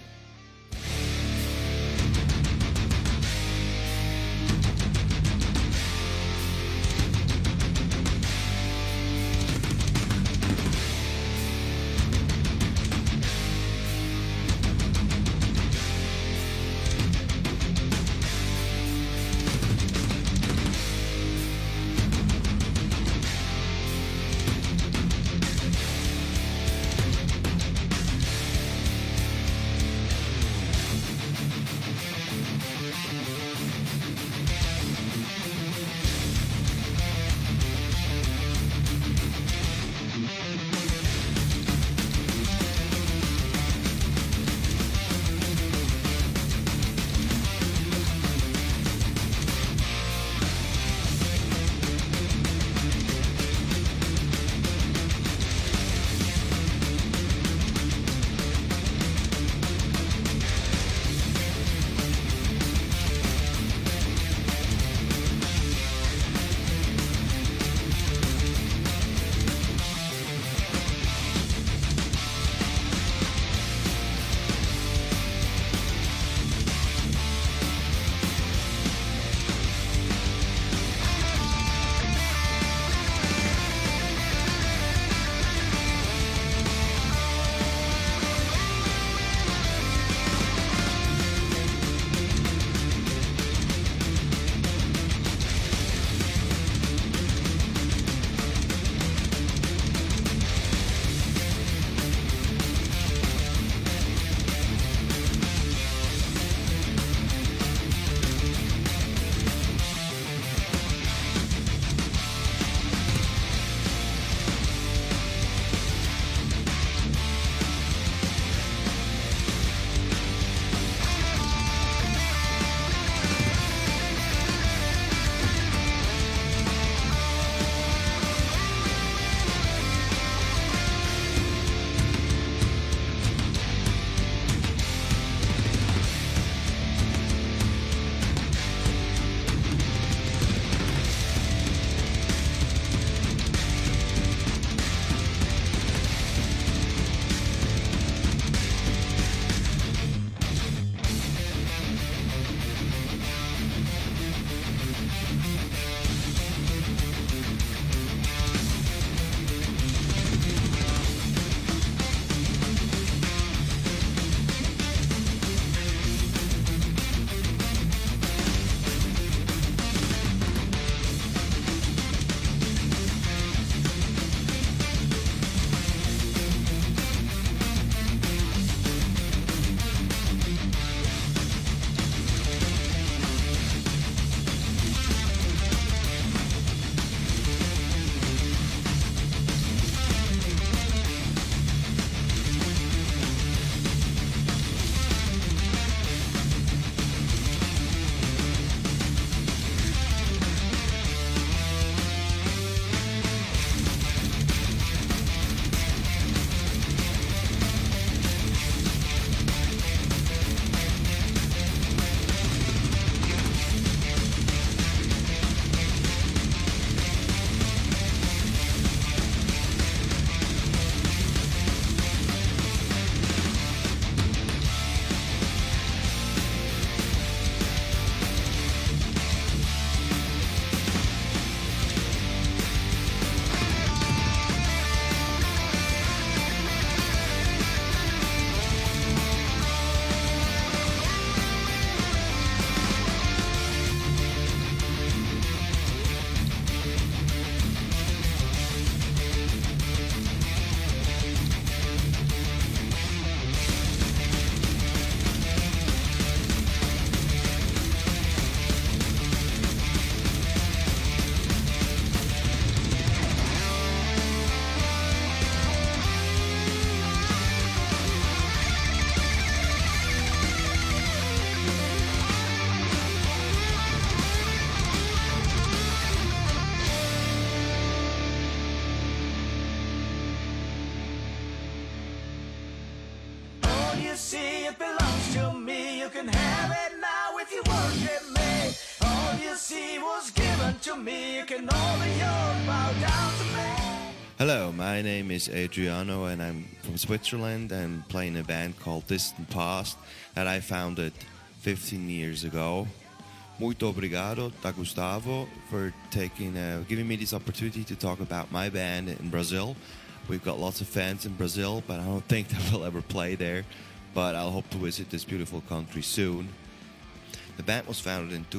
you see, it belongs to me. You can have it now if you worship me. All you see was given to me. You can all the earth bow down to me. Hello, my name is Adriano and I'm from Switzerland. I'm playing a band called Distant Past that I founded 15 years ago. Muito obrigado da Gustavo for giving me this opportunity to talk about my band in Brazil. We've got lots of fans in Brazil, but I don't think that we'll ever play there. But I'll hope to visit this beautiful country soon. The band was founded in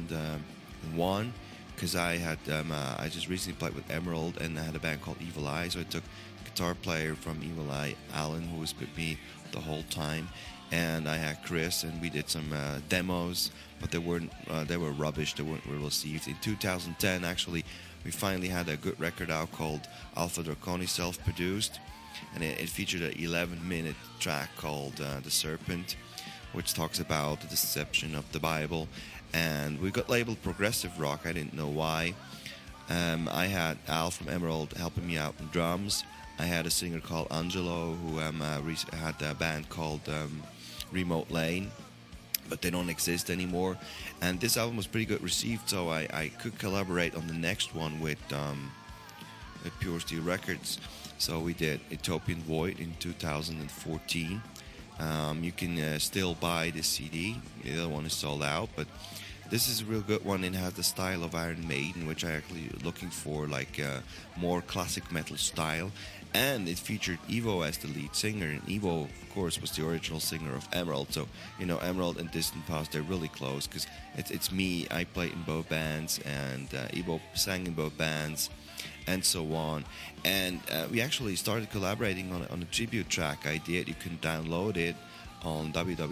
2001 because I just recently played with Emerald and I had a band called Evil Eye. So I took the guitar player from Evil Eye, Alan, who was with me the whole time, and I had Chris, and we did some demos, but they were rubbish. They weren't well received. In 2010, actually, we finally had a good record out called Alpha Draconi, self-produced, and it featured an 11-minute track called The Serpent, which talks about the deception of the Bible. And we got labeled progressive rock. I didn't know why. I had Al from Emerald helping me out on drums. I had a singer called Angelo who had a band called Remote Lane, but they don't exist anymore. And this album was pretty good received, so I could collaborate on the next one with Pure Steel Records. So we did Utopian Void in 2014. You can still buy this CD. The other one is sold out, but this is a real good one. It has the style of Iron Maiden, which I actually looking for, like more classic metal style. And it featured Ivo as the lead singer, and Ivo, of course, was the original singer of Emerald. So, you know, Emerald and Distant Past, they're really close, because it's me. I played in both bands, and Ivo sang in both bands, and so on. And we actually started collaborating on a tribute track I did. You can download it on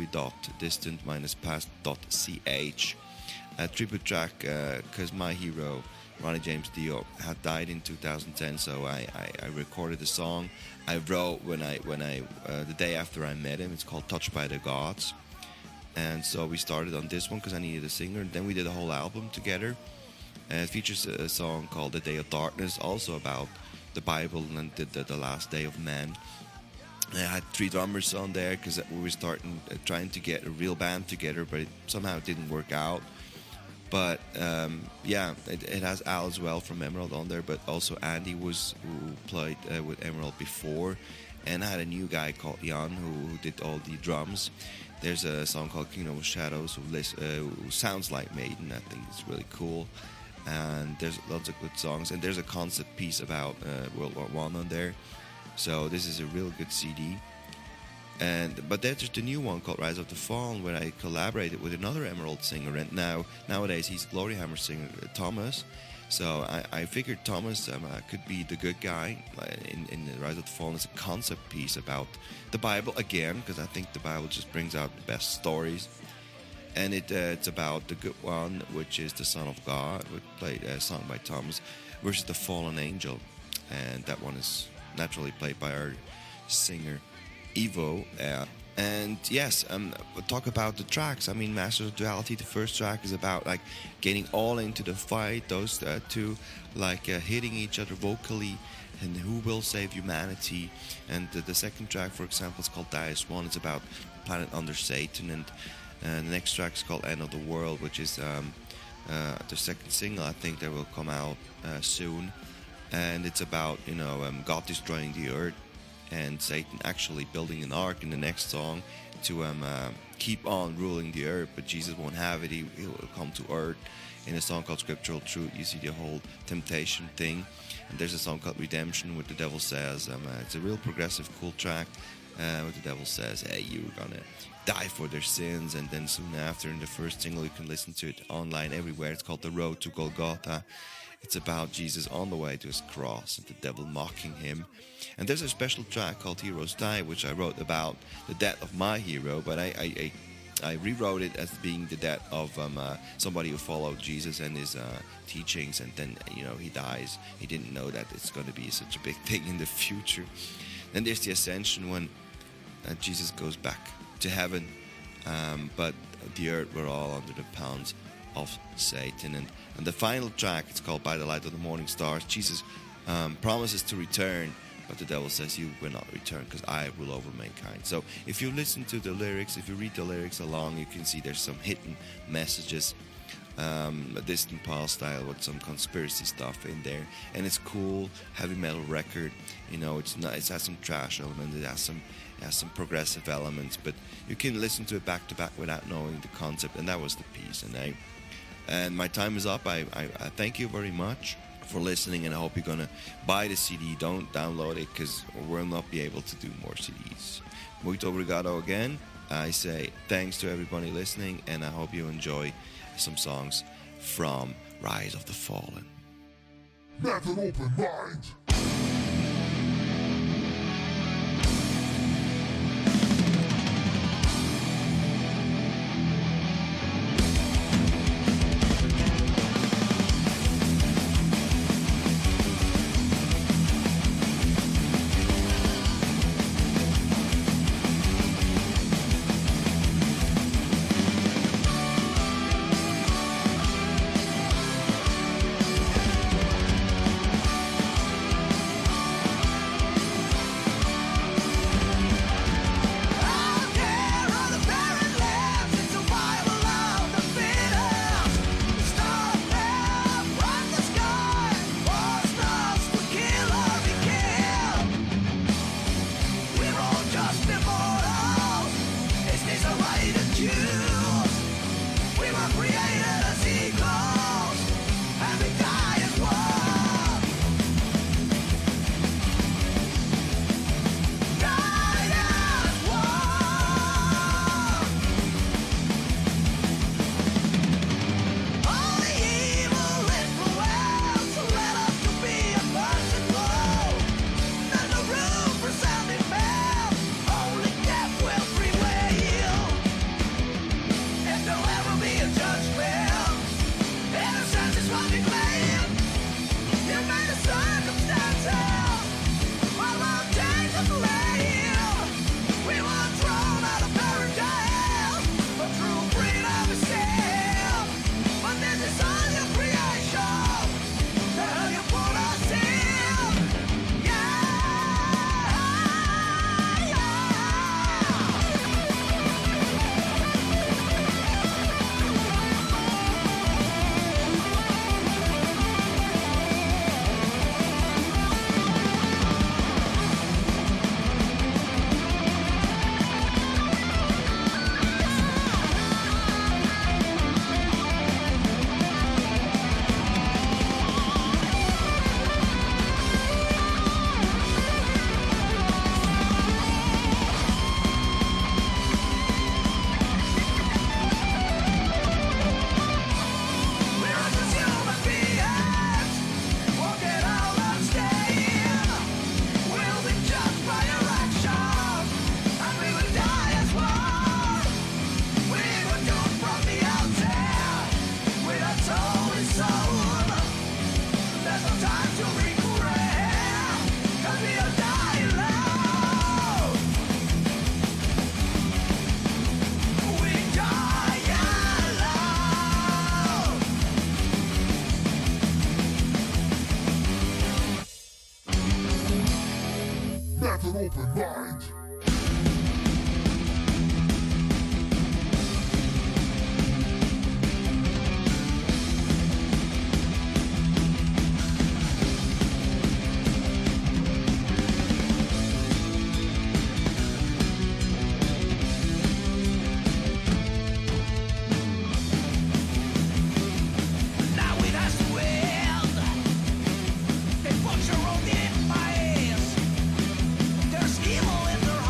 www.distant-past.ch. A tribute track, because my hero, Ronnie James Dio, had died in 2010, so I recorded the song. I wrote the day after I met him. It's called Touched by the Gods, and so we started on this one because I needed a singer. And then we did a whole album together. And it features a song called The Day of Darkness, also about the Bible and the last day of man. I had 3 drummers on there because we were trying to get a real band together, but it somehow didn't work out. But it has Al as well from Emerald on there, but also Andy who played with Emerald before, and I had a new guy called Jan who did all the drums. There's a song called Kingdom of Shadows who sounds like Maiden. I think it's really cool, and there's lots of good songs, and there's a concept piece about World War I on there. So this is a real good CD. But there's just a new one called Rise of the Fallen, where I collaborated with another Emerald singer, and nowadays he's Gloryhammer singer Thomas. So I figured Thomas could be the good guy in the Rise of the Fallen. It's a concept piece about the Bible again, because I think the Bible just brings out the best stories. And it's about the good one, which is the Son of God, which played sung by Thomas, versus the fallen angel, and that one is naturally played by our singer Ivo. And yes, we'll talk about the tracks. I mean, Masters of Duality, the first track is about like getting all into the fight, those two like hitting each other vocally, and who will save humanity. And the second track, for example, is called Dias One. It's about planet under Satan. And the next track is called End of the World, which is the second single, I think, that will come out soon. And it's about God destroying the earth, and Satan actually building an ark in the next song to keep on ruling the earth, but Jesus won't have it. He will come to earth. In a song called Scriptural Truth, you see the whole temptation thing. And there's a song called Redemption, where the devil says, it's a real progressive, cool track, where the devil says, hey, you're gonna die for their sins. And then soon after, in the first single, you can listen to it online everywhere. It's called The Road to Golgotha. It's about Jesus on the way to his cross and the devil mocking him. And there's a special track called Heroes Die, which I wrote about the death of my hero, but I rewrote it as being the death of somebody who followed Jesus and his teachings, and then he dies. He didn't know that it's going to be such a big thing in the future. Then there's the Ascension, when Jesus goes back to heaven, but the earth were all under the pounds of Satan. And the final track, it's called By the Light of the Morning Stars. Jesus promises to return but the devil says you will not return because I rule over mankind. So if you listen to the lyrics, if you read the lyrics along, you can see there's some hidden messages, a distant past style with some conspiracy stuff in there, and it's cool heavy metal record. You know, it has some trash elements, it has some progressive elements, but you can listen to it back to back without knowing the concept, and that was the piece. And my time is up. I thank you very much for listening, and I hope you're gonna buy the CD. Don't download it because we'll not be able to do more CDs. Muito obrigado again. I say thanks to everybody listening, and I hope you enjoy some songs from Rise of the Fallen. Have an open mind. There's evil in their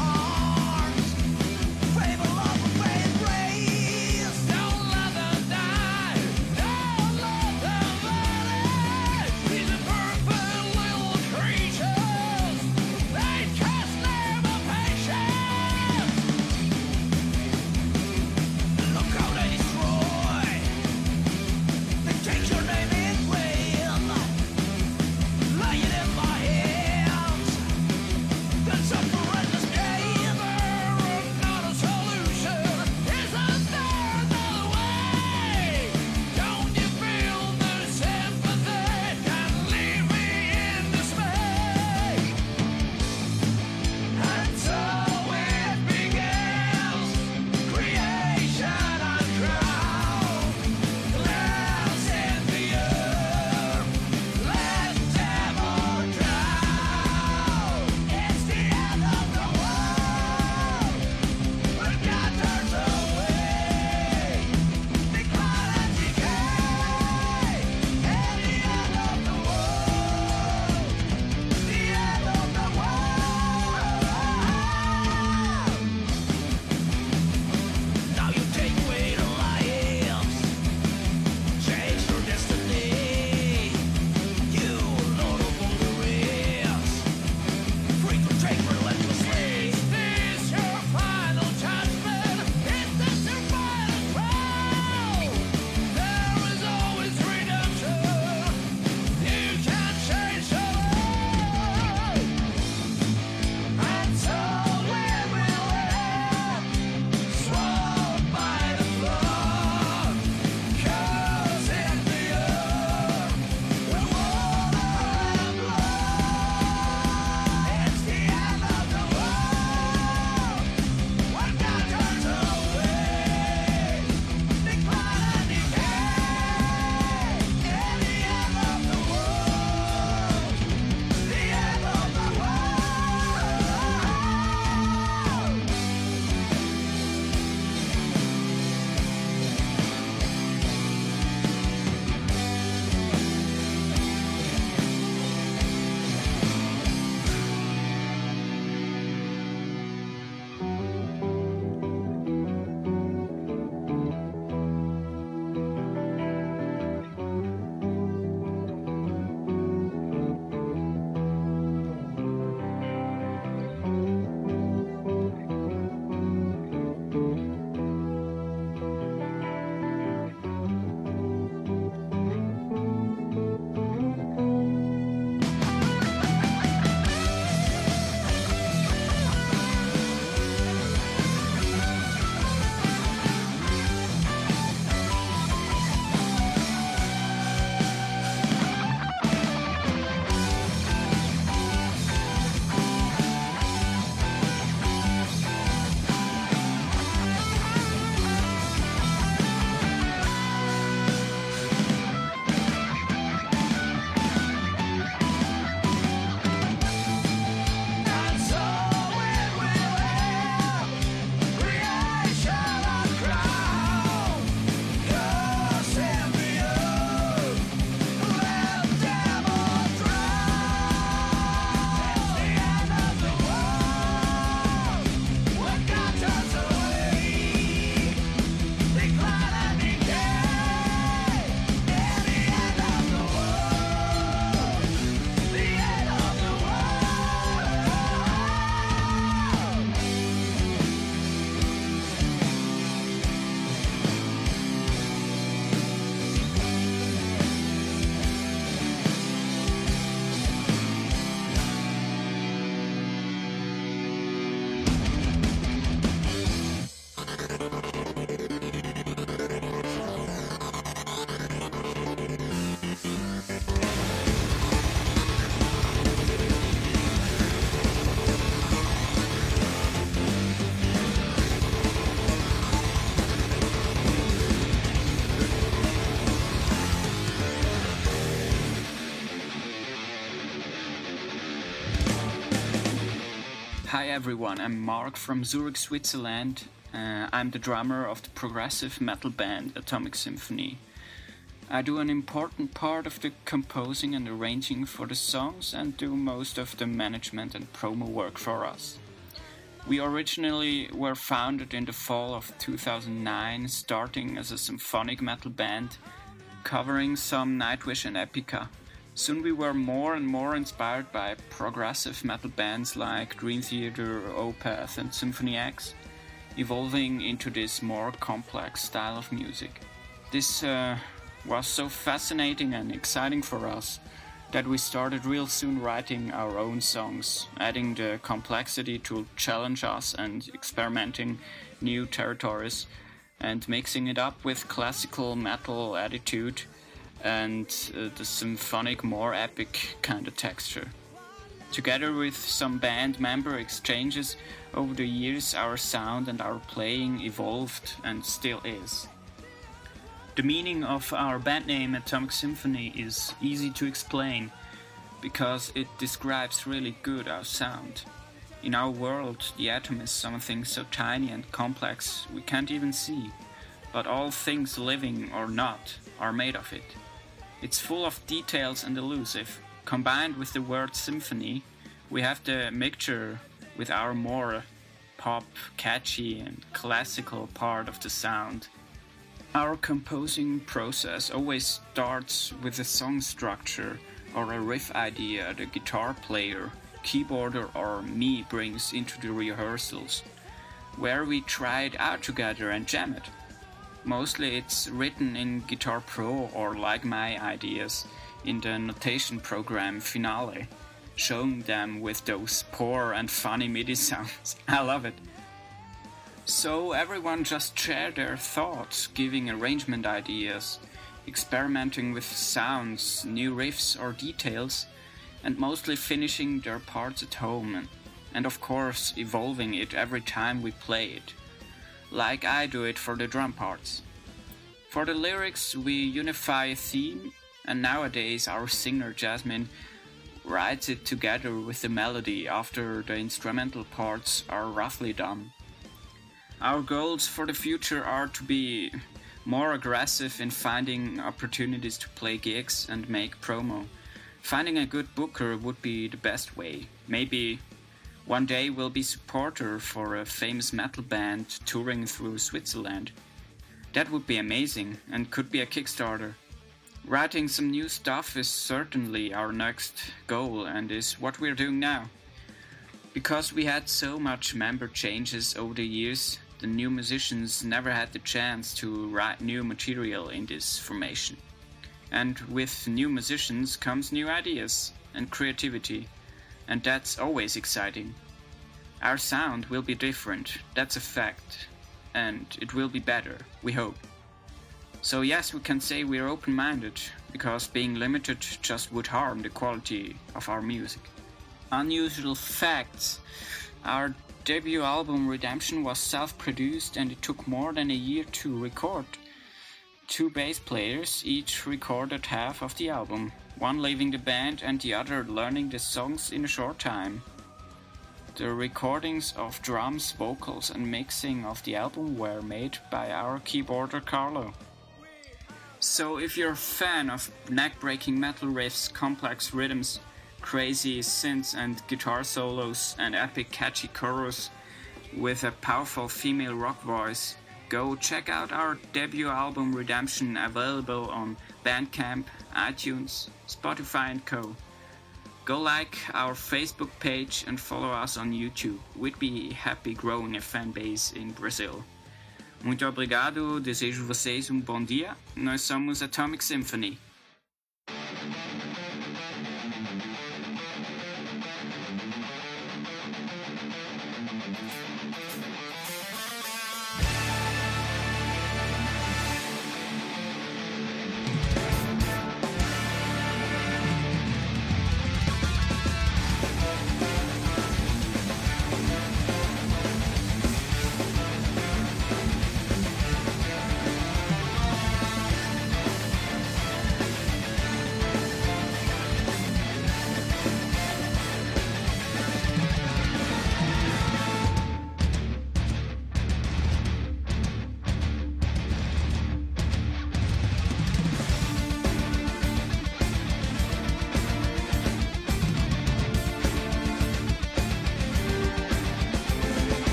Hi everyone, I'm Mark from Zurich, Switzerland. I'm the drummer of the progressive metal band Atomic Symphony. I do an important part of the composing and arranging for the songs and do most of the management and promo work for us. We originally were founded in the fall of 2009, starting as a symphonic metal band covering some Nightwish and Epica. Soon we were more and more inspired by progressive metal bands like Dream Theater, Opeth and Symphony X, evolving into this more complex style of music. This was so fascinating and exciting for us that we started real soon writing our own songs, adding the complexity to challenge us and experimenting new territories and mixing it up with classical metal attitude and the symphonic, more epic kind of texture. Together with some band member exchanges over the years, our sound and our playing evolved and still is. The meaning of our band name Atomic Symphony is easy to explain because it describes really good our sound. In our world, the atom is something so tiny and complex we can't even see, but all things living or not are made of it. It's full of details and elusive. Combined with the word symphony, we have the mixture with our more pop, catchy and classical part of the sound. Our composing process always starts with a song structure or a riff idea the guitar player, keyboarder or me brings into the rehearsals, where we try it out together and jam it. Mostly it's written in Guitar Pro or like my ideas in the notation program Finale, showing them with those poor and funny MIDI sounds. I love it. So everyone just share their thoughts, giving arrangement ideas, experimenting with sounds, new riffs or details, and mostly finishing their parts at home, and of course evolving it every time we play it, like I do it for the drum parts. For the lyrics we unify a theme, and nowadays our singer Jasmine writes it together with the melody after the instrumental parts are roughly done. Our goals for the future are to be more aggressive in finding opportunities to play gigs and make promo. Finding a good booker would be the best way. Maybe one day we'll be supporter for a famous metal band touring through Switzerland. That would be amazing and could be a Kickstarter. Writing some new stuff is certainly our next goal and is what we're doing now. Because we had so much member changes over the years, the new musicians never had the chance to write new material in this formation. And with new musicians comes new ideas and creativity, and that's always exciting. Our sound will be different, that's a fact, and it will be better, we hope. So yes, we can say we're open-minded, because being limited just would harm the quality of our music. Unusual facts. Our debut album Redemption was self-produced and it took more than a year to record. 2 bass players each recorded half of the album, one leaving the band and the other learning the songs in a short time. The recordings of drums, vocals and mixing of the album were made by our keyboarder Carlo. So if you're a fan of neck-breaking metal riffs, complex rhythms, crazy synths and guitar solos and epic catchy chorus with a powerful female rock voice, go check out our debut album Redemption, available on Bandcamp, iTunes, Spotify and co. Go like our Facebook page and follow us on YouTube. We'd be happy growing a fan base in Brazil. Muito obrigado, desejo vocês bom dia. Nós somos Atomic Symphony.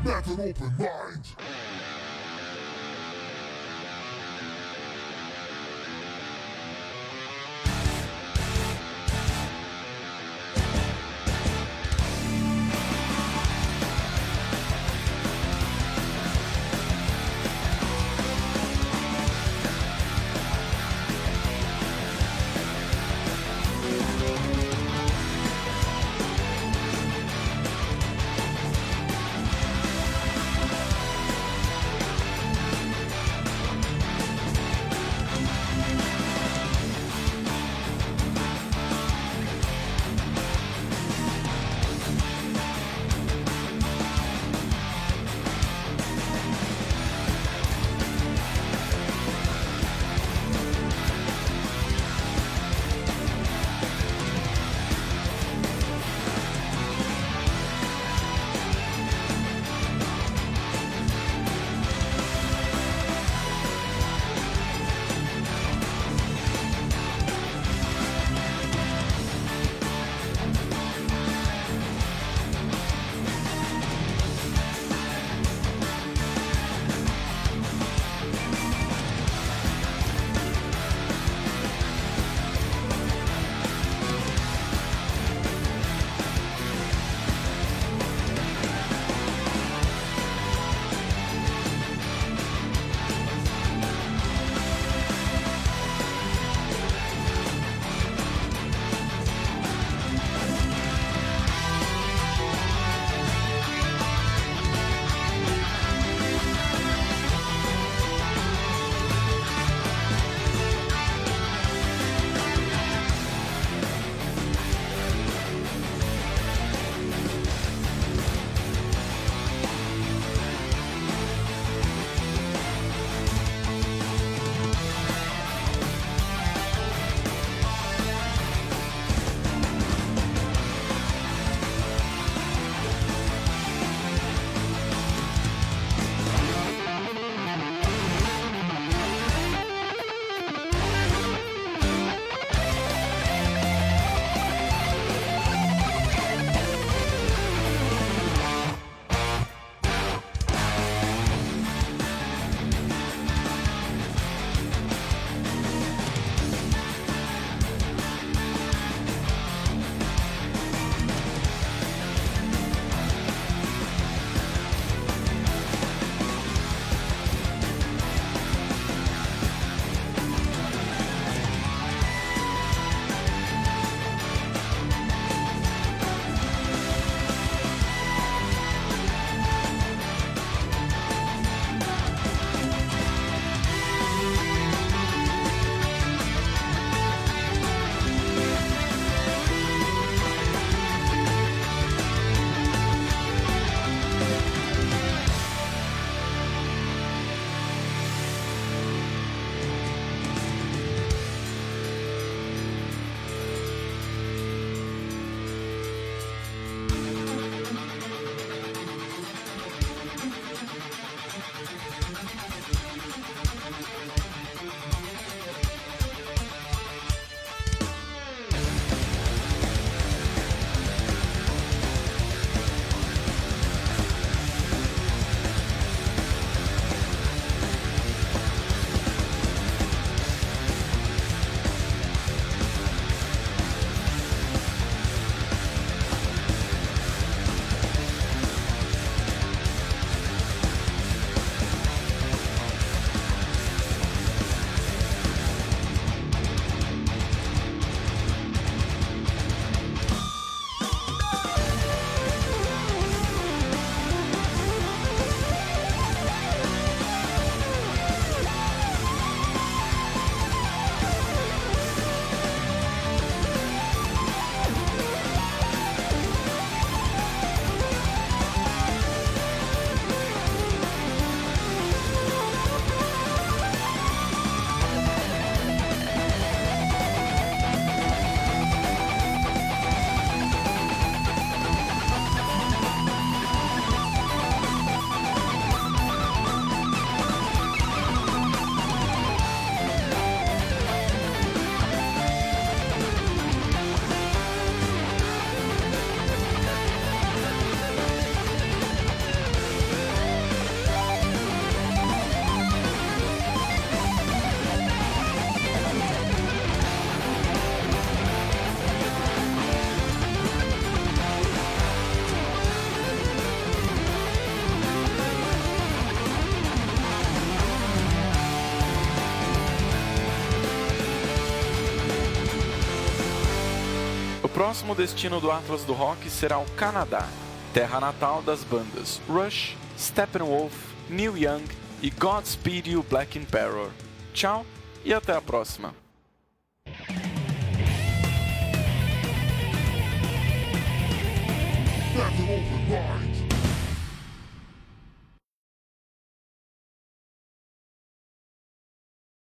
Have an open mind. próximo destino do Atlas do Rock será o Canadá, terra natal das bandas Rush, Steppenwolf, Neil Young e Godspeed You Black Emperor. Tchau e até a próxima! That's an open mind.